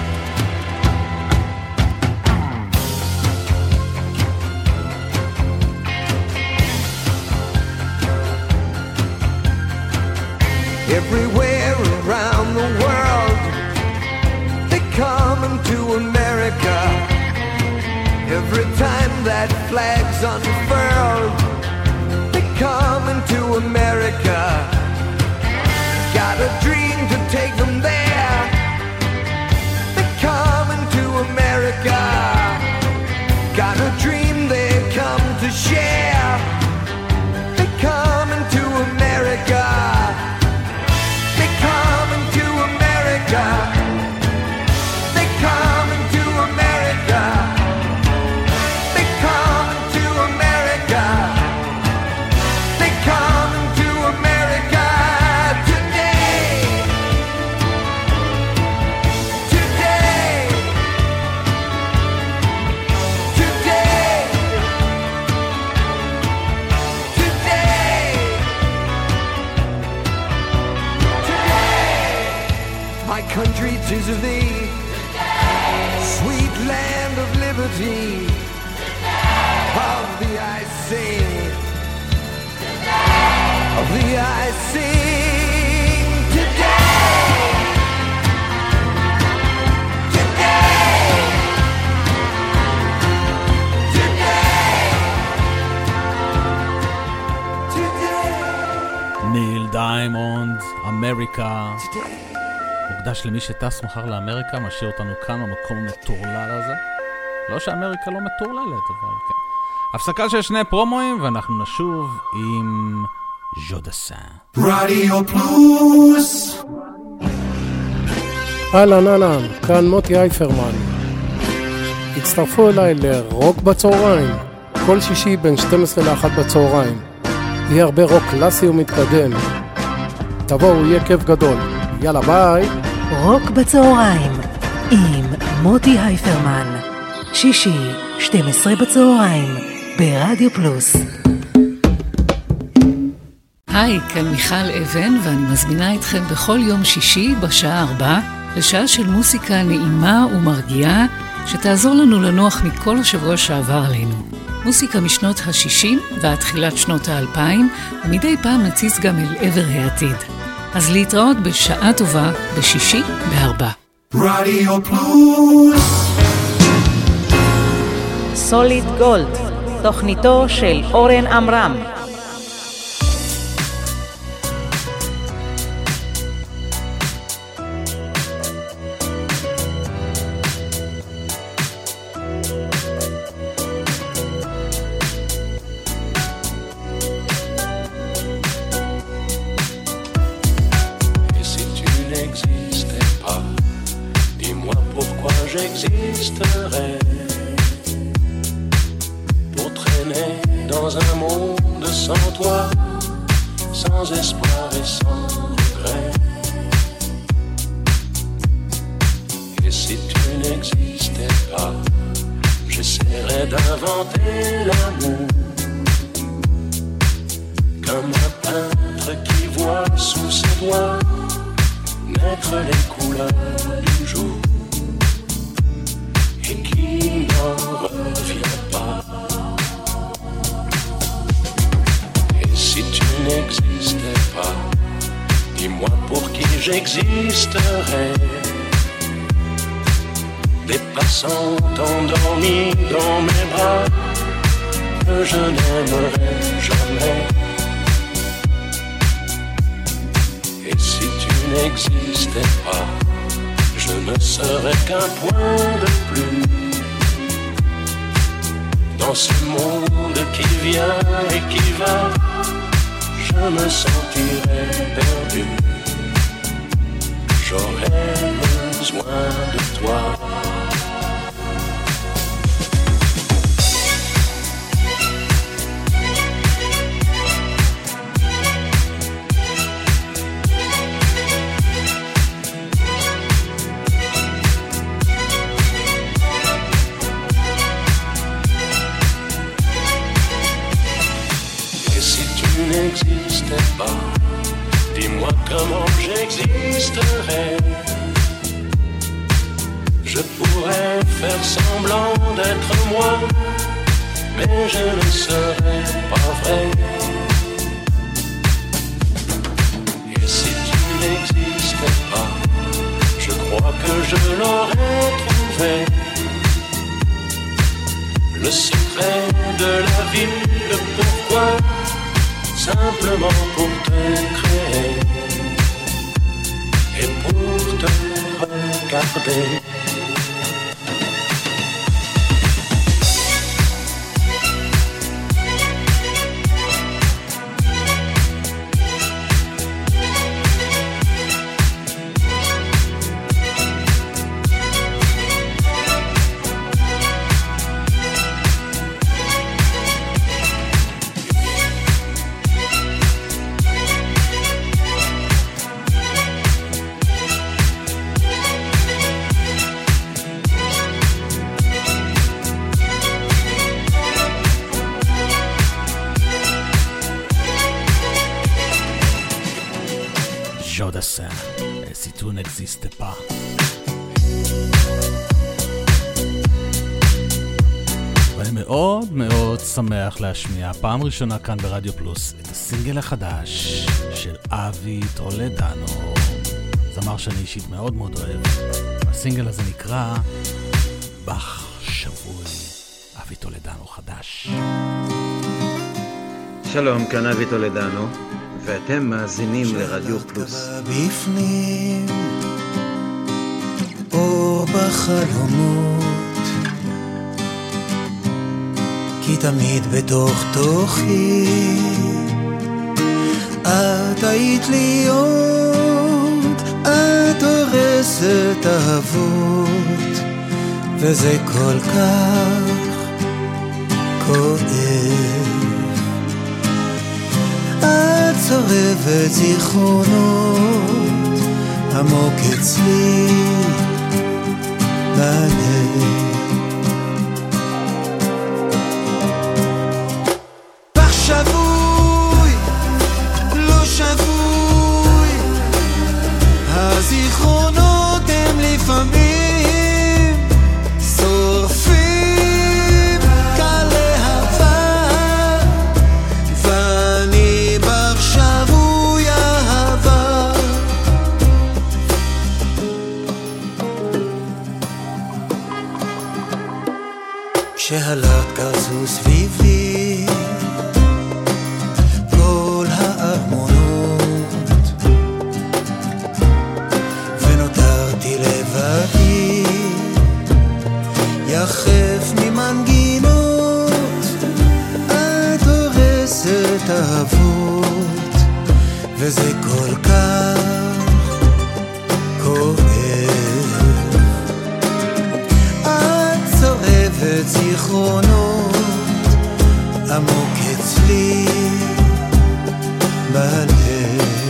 Everywhere around the world, they come into America. Every time that flag's unfurled, they come into America. Got a dream to take them there. They come into America. Got a dream they come to share. They come into America. They come into America. They come into America. They come into America. They come into America today. Today. Today. Today. My country, 'tis of thee, sweet land of liberty. Of thee I sing, of thee I sing today. Today. Today. ניל דיימונד, אמריקה. מוקדש למי שטס מחר לאמריקה, משאיר אותנו כאן במקום המטורלל הזה. לא שאמריקה לא מטורללת, אבל כן. הפסקה של 2 פרומואים, ואנחנו נשוב עם ז'ודסן. רדיו פלוס. אהלן, כאן מוטי אייפרמן. הצטרפו אליי לרוק בצהריים, כל שישי בין 12 ל-1 בצהריים. יהיה הרבה רוק קלאסי ומתקדם. תבואו, יהיה כיף גדול. יאללה, ביי. רוק בצהריים עם מוטי הייפרמן, שישי 12 בצהריים ברדיו פלוס. היי, כאן מיכל אבן, ואני מזמינה אתכם בכל יום שישי בשעה 4 לשעה של מוסיקה נעימה ומרגיעה שתעזור לנו לנוח מכל השבוע שעבר עלינו. מוסיקה משנות ה-60 ועד תחילת שנות ה-2000, ומדי פעם נציץ גם אל עבר העתיד. אז להתראות בשעה טובה בשישי ב-4. רדיו פלוס. סוליד גולד, תוכניתו של אורן אמרם. J'existerais pour traîner dans un monde sans toi, sans espoir et sans regret. Et si tu n'existais pas, j'essaierais d'inventer l'amour comme un peintre qui voit sous ses doigts naître les couleurs du jour et qui n'en revient pas. Et si tu n'existais pas, dis-moi pour qui j'existerais. Des passants endormis dans mes bras que je n'aimerais jamais. Et si tu n'existais pas, je ne serais qu'un point de plus dans ce monde qui vient et qui va. Je me sentirais perdu. J'aurais besoin de toi. pas. Dis-moi comment j'existerais. Je pourrais faire semblant d'être moi, mais je ne serais pas vrai. Et si tu n'existais pas, je crois que je l'aurais trouvé. Le secret de la vie, le pourquoi, simplement pour te créer et pour te regarder. Si tu n'existais pas. ואני מאוד מאוד שמח להשמיע פעם ראשונה כאן ברדיו פלוס את הסינגל החדש של אבי טולדנו, זמר שאני אישית מאוד מאוד אוהב. הסינגל הזה נקרא בח שבוי. אבי טולדנו חדש. שלום, כאן אבי טולדנו ואתם מאזינים לרדיו פלוס. בפנים אור בחלומות, כי תמיד בתוך תוכי את היית להיות, את הורסת אהבות, וזה כל כך כואב. את צורבת זיכרונות עמוק אצלי בלב. בך שבוי, לא שבוי, הזיכרונות הם לפעמים שורפים קל להבה, ואני בך שבוי אהבה. כשהלכת כזו סביבי כל הארמונות, ונותרתי לבדי יחף ממנגינות, את הורסת אהבות, וזה כל כך כואב. את צורבת זיכרונות עמוק אצלי בלב.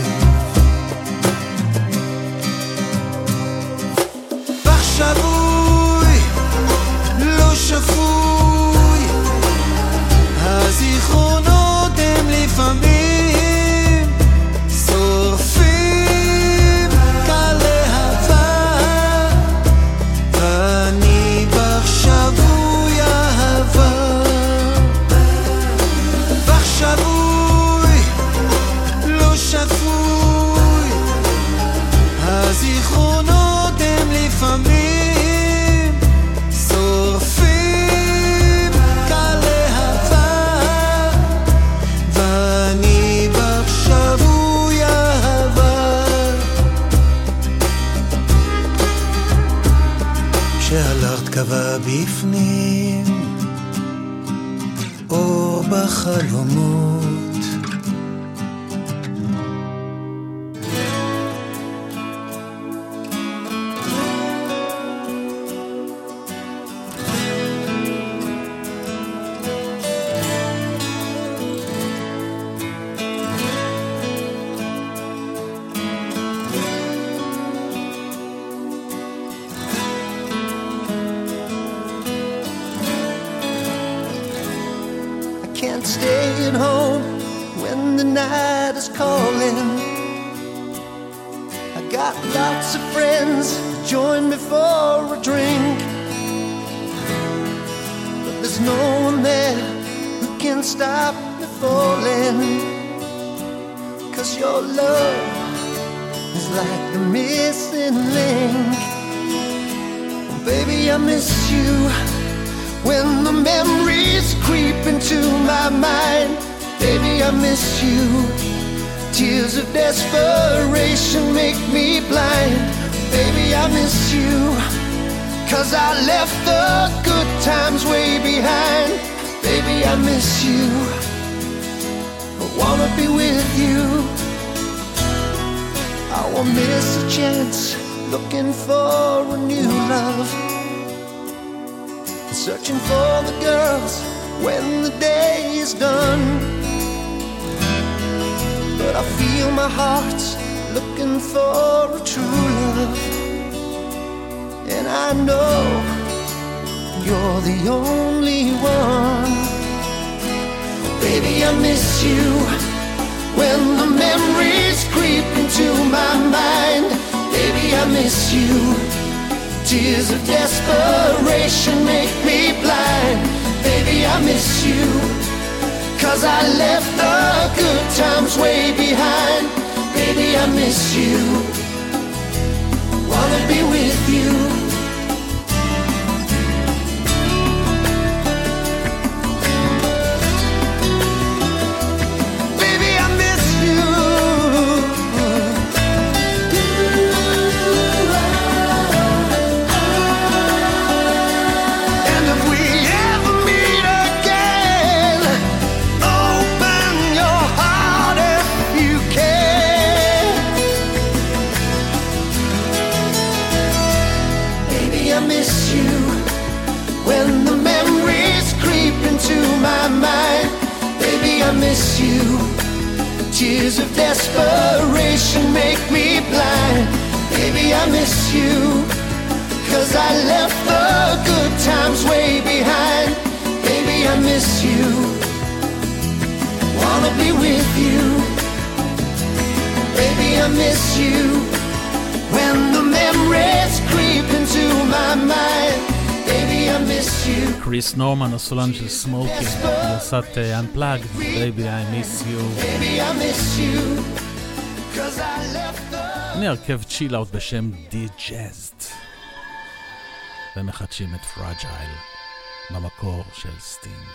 בך שבוי, לא שפוי, הזיכרונות הם לפעמים שורפים קל להבה, ואני בך שבוי אהבה. בך שבוי, לא שפוי, הזיכרונות הם לפעמים שורפים קל להבה, ואני בך שבוי אהבה. כשהלכת קבע בפנים אור בחלומות, when the night is calling. I got lots of friends to join me for a drink, but there's no one there who can stop me falling. 'Cause your love is like the missing link. Baby, I miss you when the memories creep into my mind. Baby, I miss you. Tears of desperation make me blind. Baby, I miss you, 'cause I left the good times way behind. Baby, I miss you, I wanna be with you. I won't miss a chance looking for a new love, searching for the girls when the day is done. But I feel my heart's looking for a true love, and I know you're the only one. Baby, I miss you when the memories creep into my mind. Baby, I miss you. Tears of desperation make me blind. Baby, I miss you, 'cause I left the good times way behind. Baby, I miss you, wanna be with you. Baby, I miss you. And if we ever meet again, open your heart if you can. Baby, I miss you when the memories creep into my mind. Baby, I miss you. Tears of desperation make me blind. Baby, I miss you, 'cause I left the good times way behind. Baby, I miss you, wanna be with you. Baby, I miss you when the memories creep into my mind. Baby, I miss you. קריס נורמן, הסולן של סמוקי, גרסת Unplugged, Baby, I miss you. Baby, I miss you, 'cause I left the... הנה הרכב צ'יל אאוט בשם די-ג'אזד, ומחדשים את פרג'ייל במקור של סטינג.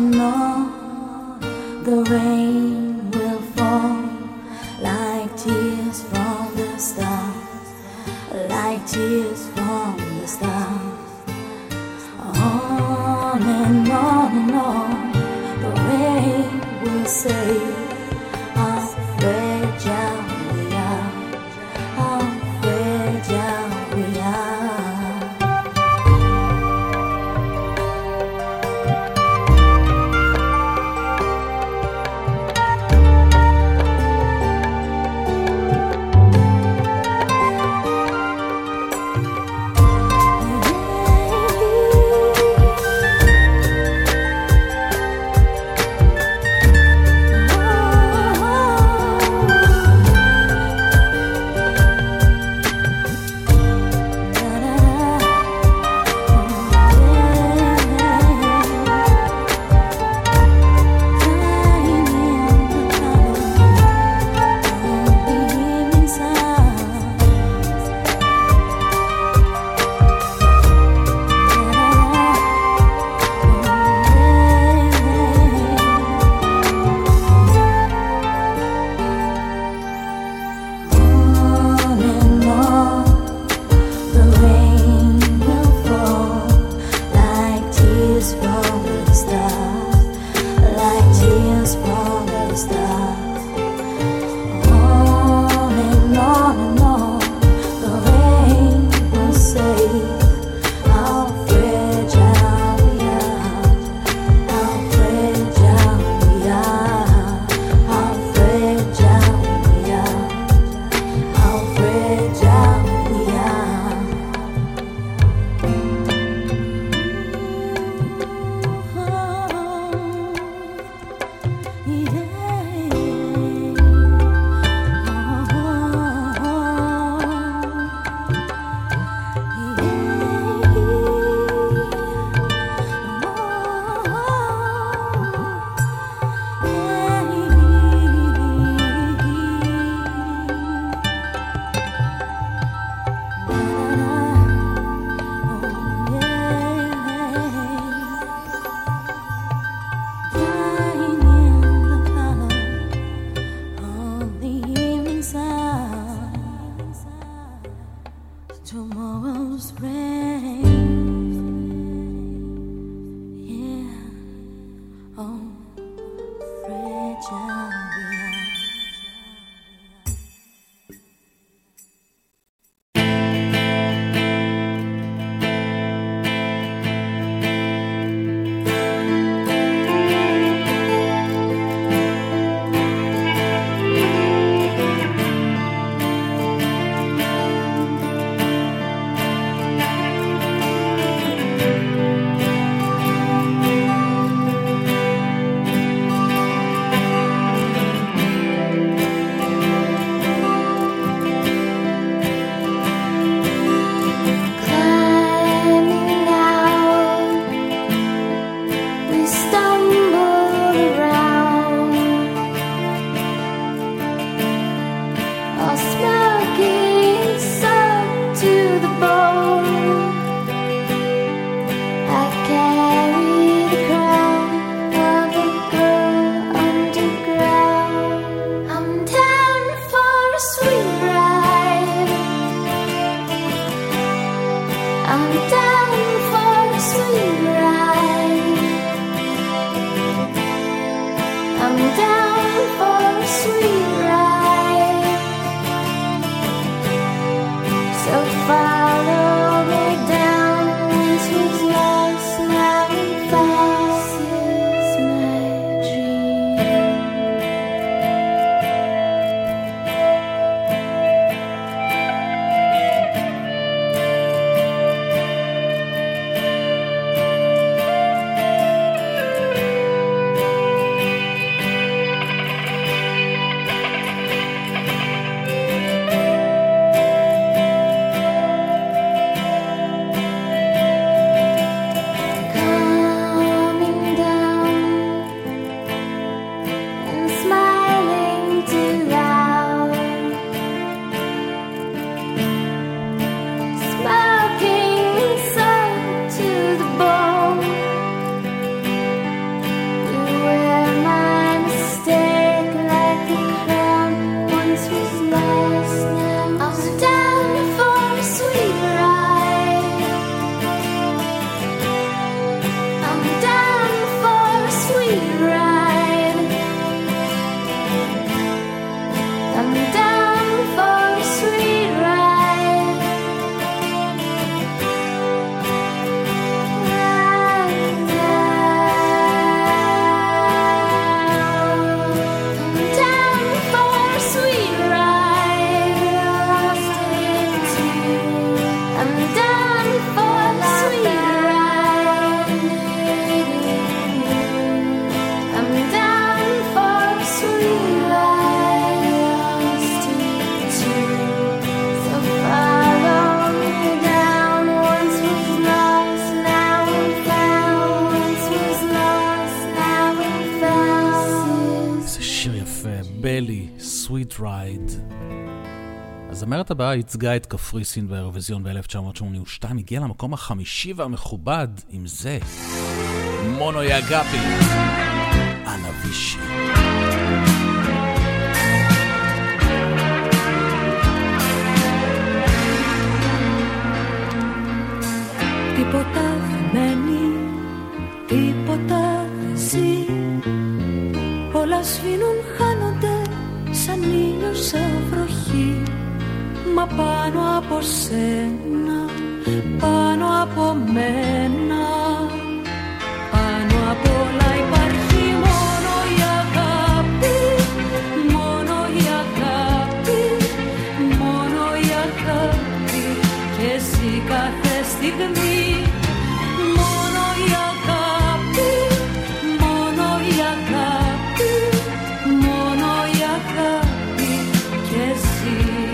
The rain will fall like tears. us from the start. On and on and on, the rain will say how fragile we are, how fragile we are, how fragile we are, how fragile we are. Tomorrow's rain, yeah, oh, fragile we are. הזמרת הבאה ייצגה את קפריסין באירוויזיון ב-1982, הגיעה למקום החמישי והמכובד עם זה, מונו יגאפי, אנה וישי. Τίποτα μένει, τίποτα ζει, Μα πάνω από σένα, πάνω από μένα, πάνω απ' όλα υπάρχει μόνο η αγάπη, μόνο η αγάπη, μόνο η αγάπη. Και εσύ κάθε στιγμή, μόνο η αγάπη, μόνο η αγάπη, μόνο η αγάπη. Και εσύ.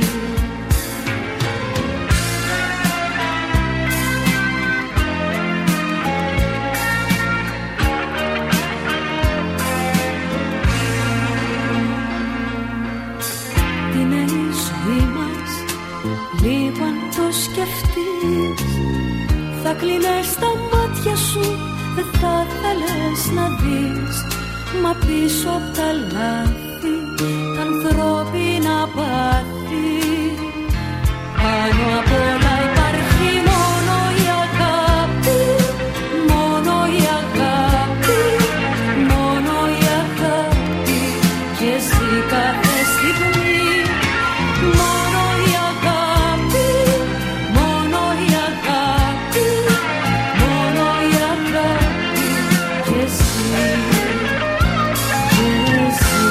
Λίγο αν το σκεφτείς, θα κλείνες τα μάτια σου, δεν θα θέλεις να δεις. Μα πίσω απ' τα λάθη, τα ανθρώπινα πάθη, πάνω απ' όλα υπάρχει μόνο η αγάπη, μόνο η αγάπη, μόνο η αγάπη. Και εσύ κάθε στιγμή, μόνο η αγάπη, μόνο η αγάπη, μόνο η αγάπη. Και εσύ, και εσύ.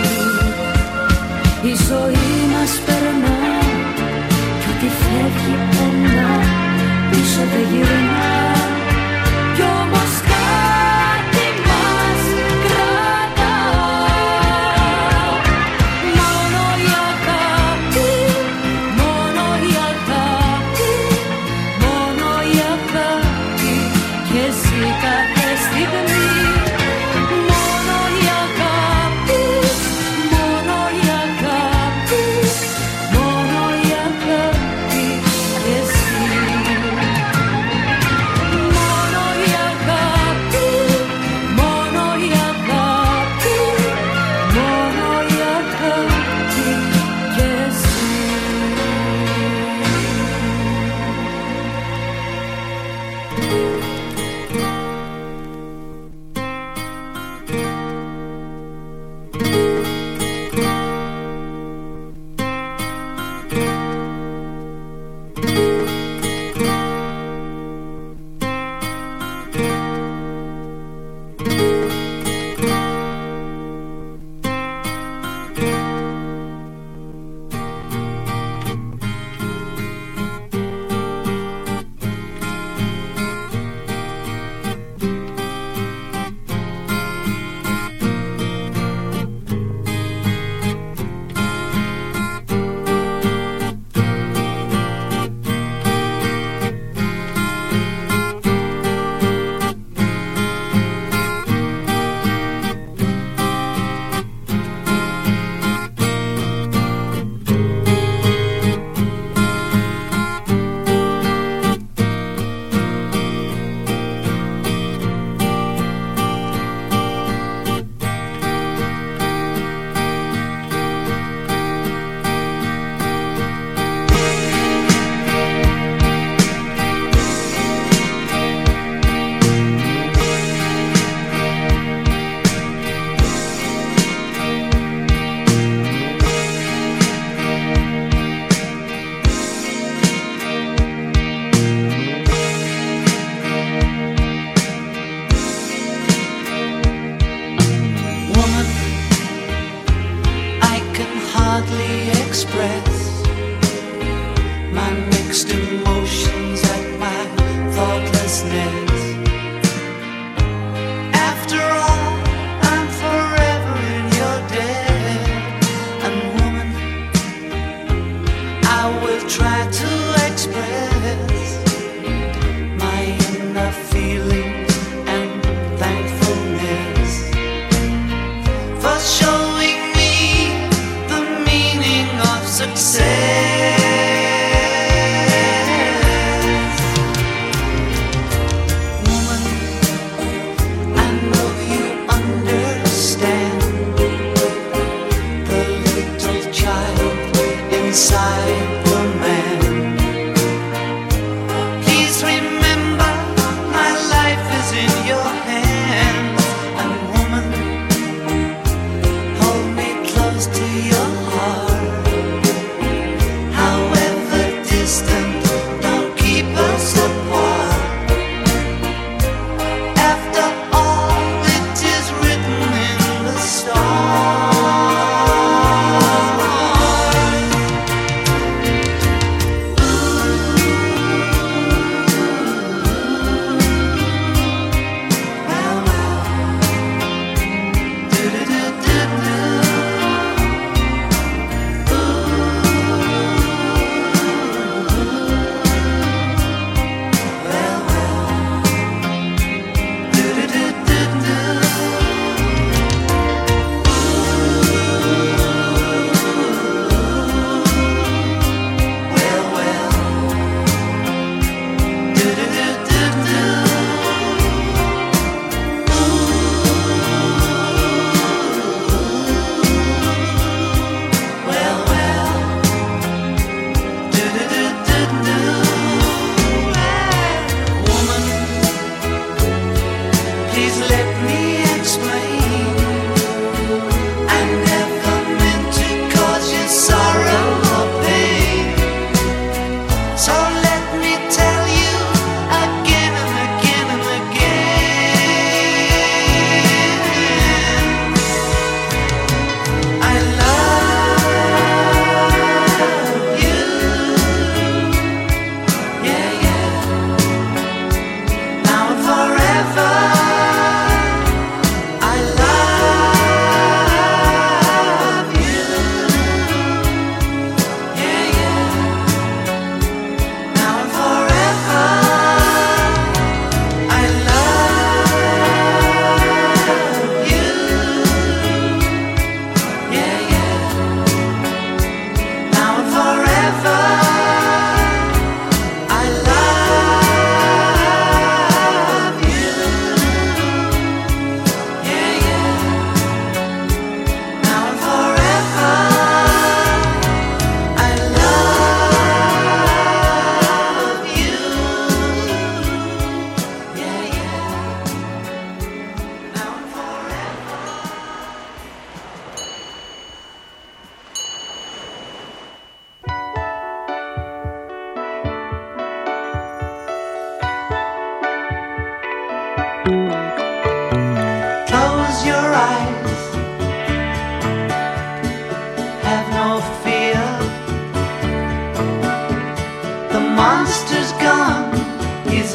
Η ζωή μας περνά κι ό,τι φεύγει περνά, πίσω δεν γυρνά. Κι όμως κάτι μας κρατά. Μόνο η αγάπη, μόνο η αγάπη, μόνο η αγάπη. Και εσύ κάθε στιγμή, μόνο η αγάπη, μόνο η αγάπη, μόνο η αγάπη. Και εσύ, μόνο η αγάπη, μόνο η αγάπη, μόνο η αγάπη. Και εσύ. Woman, I can hardly express my mixed emotions at my thoughtlessness. After all, I'm forever in your debt. And woman, I will try to express my inner feelings and thankfulness for showing me the meaning of success.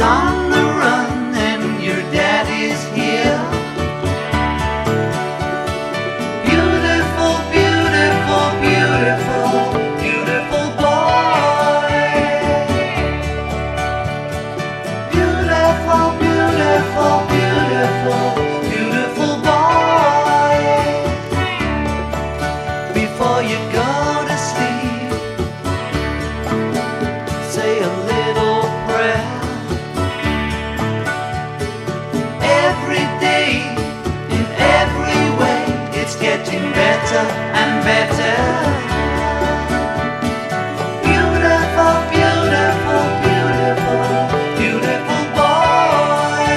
on the run and your daddy's here. Beautiful, beautiful, beautiful, beautiful boy. Beautiful, beautiful, beautiful, beautiful boy. Before you go to sleep, say a little prayer. Every day, in every way, it's getting better and better. Beautiful, beautiful, beautiful, beautiful boy.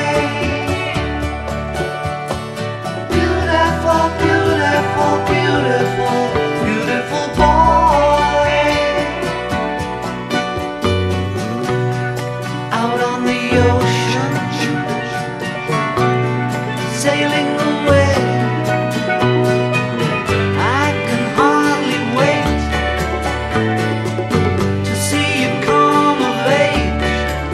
Beautiful, beautiful, beautiful, beautiful boy. Out on the ocean, sailing away. I can hardly wait to see you come of age.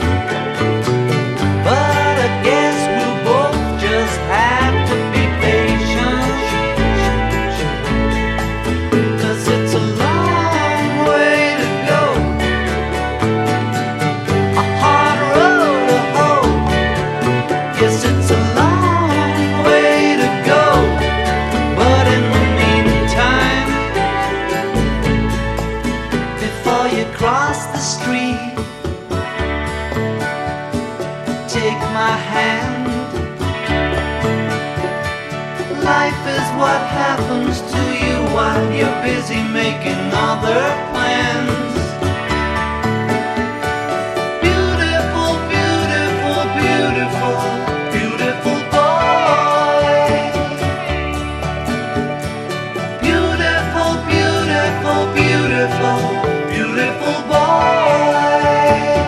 But I guess we'll both just have to be patient, 'cause it's a long way to go, a hard road to hoe. Yes, it's a long way to go, but in the meantime, before you cross the street, take my hand. Life is what happens to you while you're busy making other plans. Beautiful, beautiful, beautiful, beautiful boy. Beautiful, beautiful, beautiful, beautiful boy.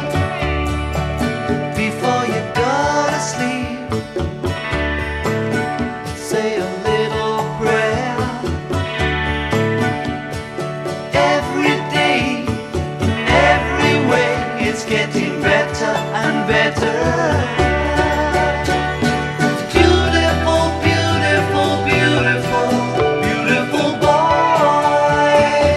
Before you go to sleep, say a little prayer. Every day, in every way, it's getting better and better. Beautiful, beautiful, beautiful, beautiful boy.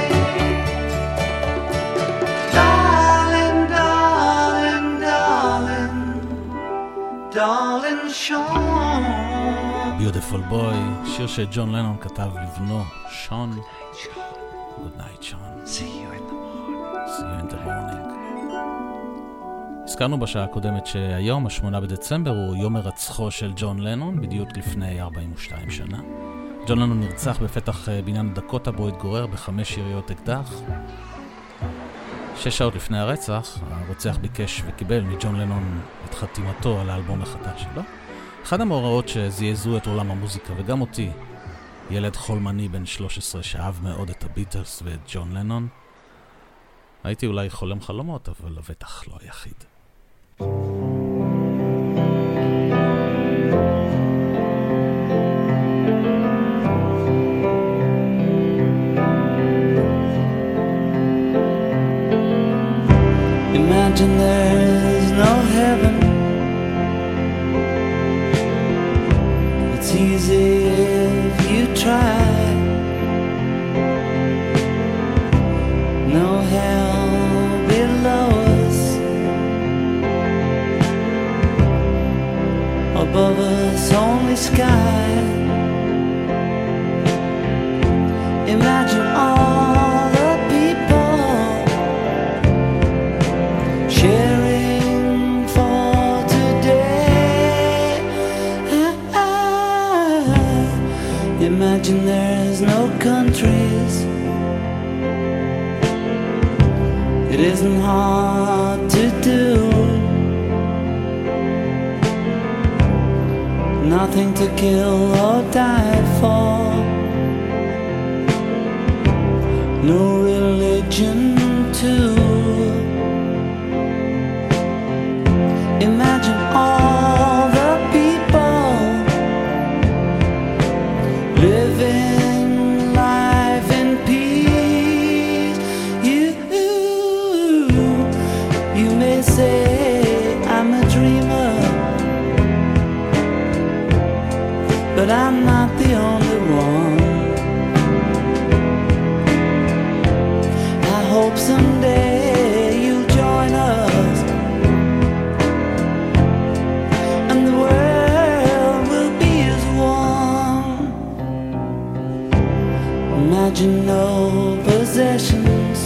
Darling, darling, darling, darling Sean. Beautiful boy, שיר שג'ון לנון כתב לבנו, שון. Good night, Sean. See you in the morning. See you in the morning. הזכרנו בשעה הקודמת שהיום, ה-8 בדצמבר, הוא יום הרצחו של ג'ון לנון, בדיוק לפני 42 שנה. ג'ון לנון נרצח בפתח בניין דקוטה בו התגורר ב5 יריות אקדח. 6 שעות לפני הרצח, הרוצח ביקש וקיבל מג'ון לנון את חתימתו על האלבום החדש שלו. אחד המאורעות שזעזעו את עולם המוזיקה וגם אותי, ילד חולמני בן 13 שאהב מאוד את הביטלס ואת ג'ון לנון. הייתי אולי חולם חלומות, אבל לבטח לא היחיד. Imagine there's no heaven. It's easy if you try. No hell below us. Above us only sky. Imagine all the people sharing for today. Imagine there's no countries. It isn't hard to do. Nothing to kill or die for. No religion too. Imagine all the people living life in peace. You may say I'm a dreamer. the only one. I hope someday you'll join us, and the world will be as one. Imagine no possessions,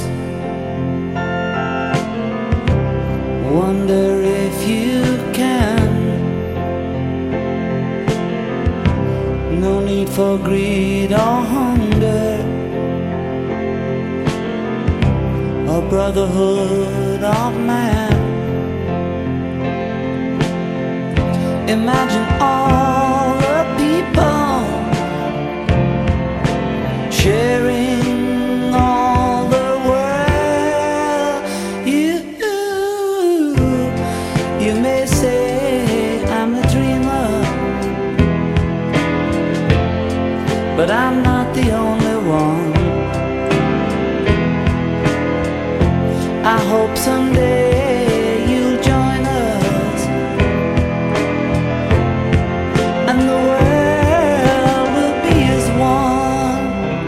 wonder if you can. No need for greed or hunger, a brotherhood of man. Imagine all the people sharing all the world. You may say I'm a dreamer, but I'm not the only one. I hope someday you'll join us, and the world will be as one.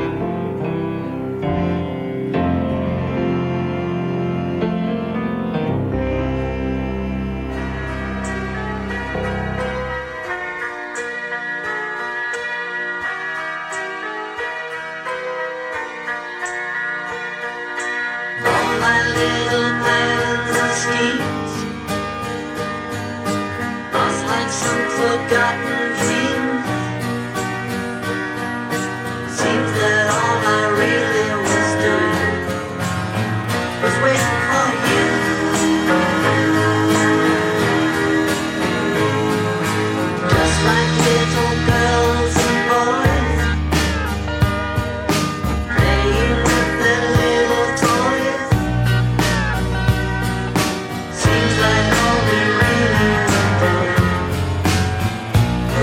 All my little plans and schemes lost like some forgotten dream. Seems that all I really was doing was waiting for you. Just like little girls and boys playing with their little toys. Seems like all we really were doing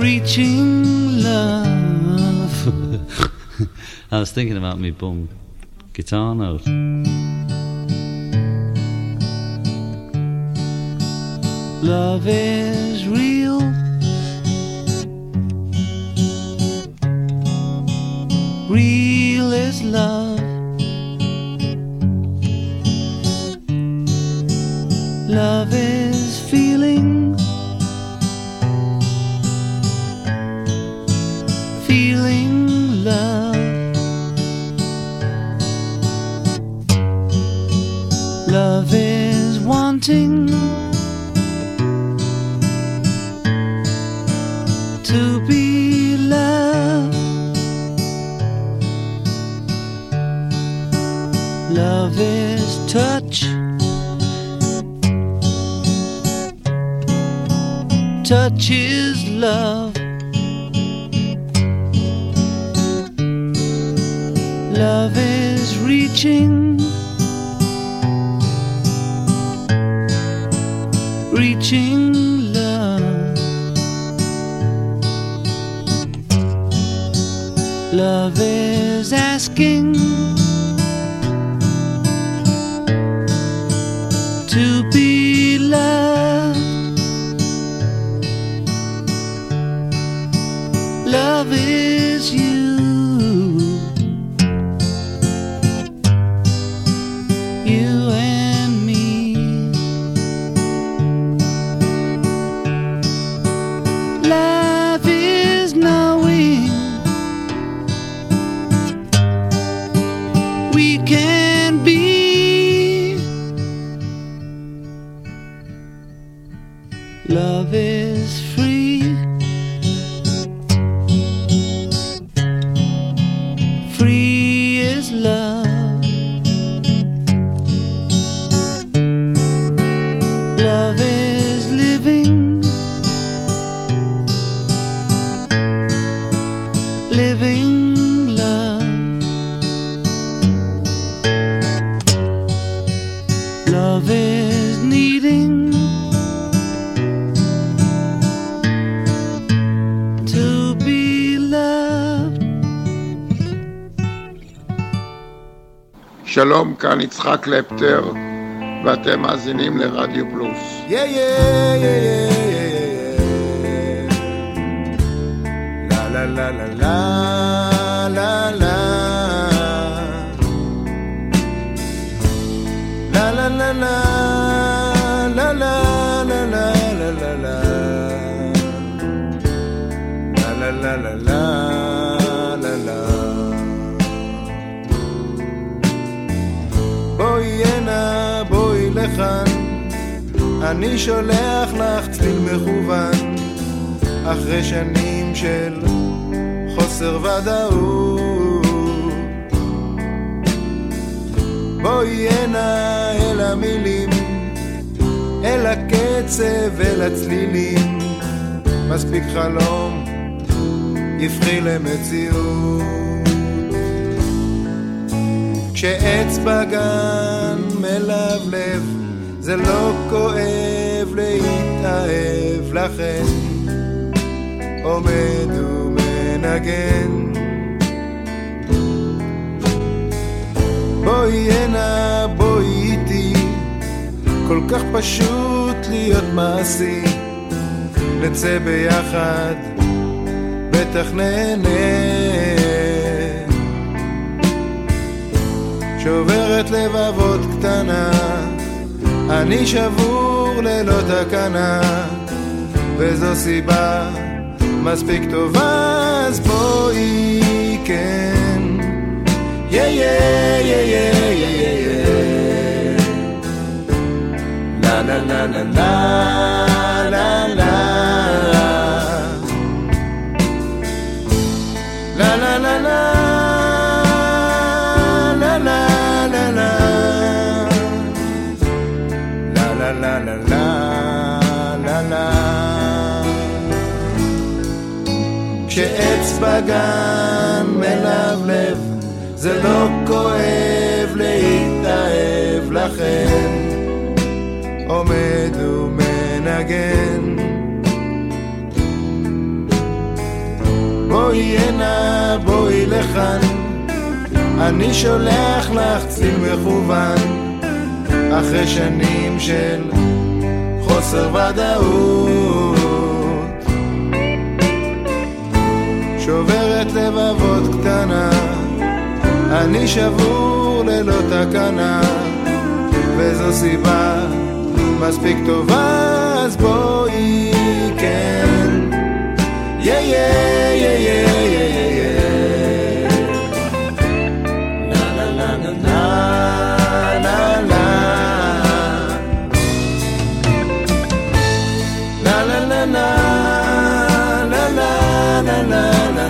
reaching love. I was thinking about me bum guitar note. Love is real. Real is love. Love is feeling. Feeling love. Love is wanting to be loved. Love is touch. Touch is love. Love is reaching. Reaching love. Love is asking to be loved. Love is you. You and me. Love is knowing we can be. Love is free. Free is love. Love is living. Living love. Love is needing to be loved. שלום, כאן יצחק קלפטר, ואתם מאזינים לרדיו פלוס. Yeah, yeah, yeah, yeah, yeah, yeah. La la la la la la la. La la la la la la la la la la la. La la la la la la la. בואי הנה, בואי לכאן, אני שולח לך צליל מכוון, אחרי שנים של חוסר ודאות. בואי הנה אל המילים, אל הקצב, אל הצלילים, מספיק חלום, יפחי למציאות. כשעץ בגן מלבלב, זה לא כואב להתאהב, לכן עומד ומנגן. בואי הנה, בואי איתי, כל כך פשוט להיות מעשי, נצא ביחד, בטח נהנה. שוברת לבבות קטנה, אני שבור ללא תקנה, וזו סיבה מספיק טובה, אז בואי כן. יא יא יא יא יא יא. לה לה לה לה לה לה לה. לה לה לה לה. La la la la la. כשעץ בגן מלבלב, זה לא כואב להתאהב, לכן עומד ומנגן. הנה בואי לכאן, אני שולח לך ציל מכוון, אחרי שנים של חוסר ודאות, שוברת לבבות קטנה, אני שבור ללא תקנה, וזו סיבה מספיק טובה, אז בואי כן, יא יא יא יא יא יא, לה לה לה לה לה לה לה לה לה לה לה לה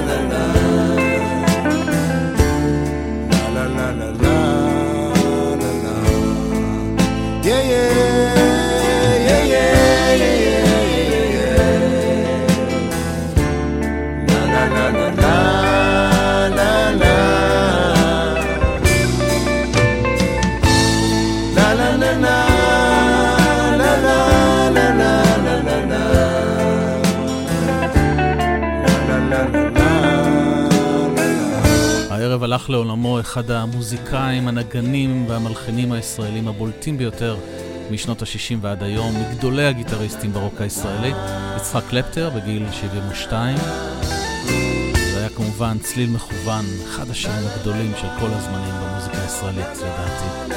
הערב הלך לעולמו אחד המוזיקאים, הנגנים והמלחינים הישראלים הבולטים ביותר משנות ה-60 ועד היום, מגדולי הגיטריסטים ברוק הישראלי, יצחק קלפטר בגיל 72. זה היה כמובן צליל מכוון, אחד השירים הגדולים של כל הזמנים במוזיקה הישראלית, לדעתי.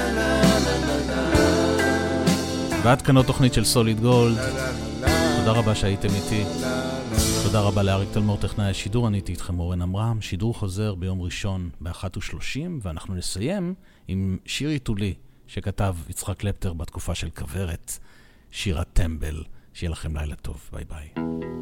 ועד כאן עוד תוכנית של סוליד גולד. תודה רבה שהייתם איתי. תודה רבה לאריק תלמור טכנאי השידור, אני הייתי איתכם אורן עמרם. שידור חוזר ביום ראשון ב-1:30, ואנחנו נסיים עם שיר עיתולי שכתב יצחק קלפטר בתקופה של כברת, שירת טמבל. שיהיה לכם לילה טוב, ביי ביי.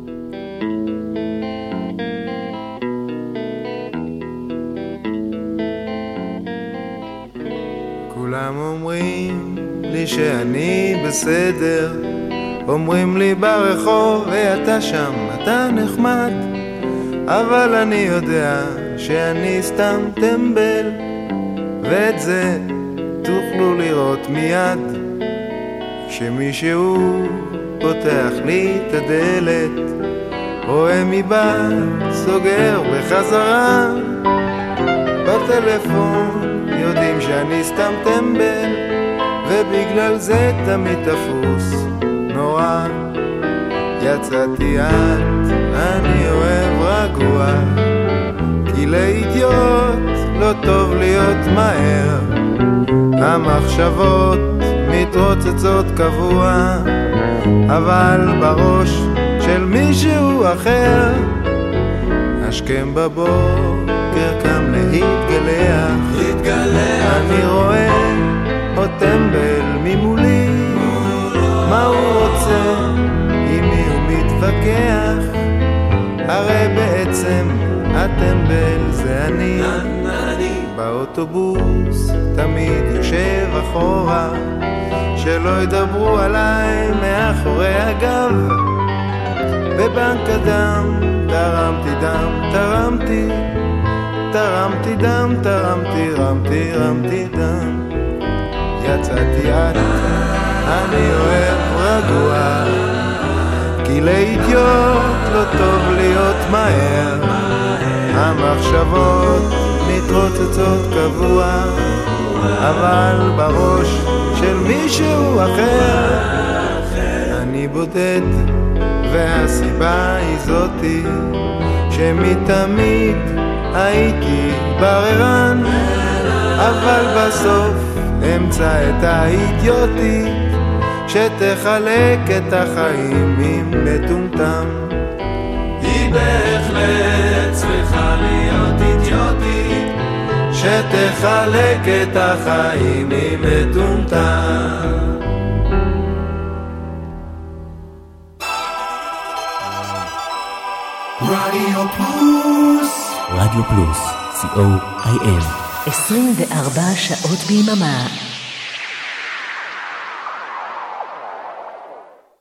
כולם אומרים לי שאני בסדר, אומרים לי ברחוב, ואתה שם, אתה נחמד, אבל אני יודע שאני סתם טמבל, ואת זה תוכלו לראות מיד, כשמישהו פותח לי את הדלת, רואה מבעד, סוגר בחזרה, בטלפון יודעים שאני סתם טמבל, ובגלל זה תמיד תפוס נורא. יצאתי את, אני אוהב רגוע, כי לאידיוט לא טוב להיות מהר, המחשבות מתרוצצות קבוע, אבל בראש של מישהו אחר, השכם בבוקר קם להתגלח, אני רואה עוד טמבל ממולי, מה הוא רוצה, עם מי הוא מתווכח, הרי בעצם הטמבל זה אני, באוטובוס תמיד יושב אחורה, שלא ידברו עליי מאחורי הגב, בבנק הדם תרמתי דם, תרמתי דם, רמתי דם, יצאתי את, אני אוהב רגוע, כי לאידיוט לא טוב להיות מהר, המחשבות מתרוצצות קבוע, אבל בראש של מישהו אחר, אני בודד, והסיבה היא זאתי, שמתמיד הייתי בררן, אבל בסוף אמצא את האידיוטית, שתחלק את החיים עם מטומטם. היא בהחלט צריכה להיות אידיוטית, שתחלק את החיים עם מטומטם. רדיו פלוס, רדיו פלוס, co.il 24 שעות ביממה.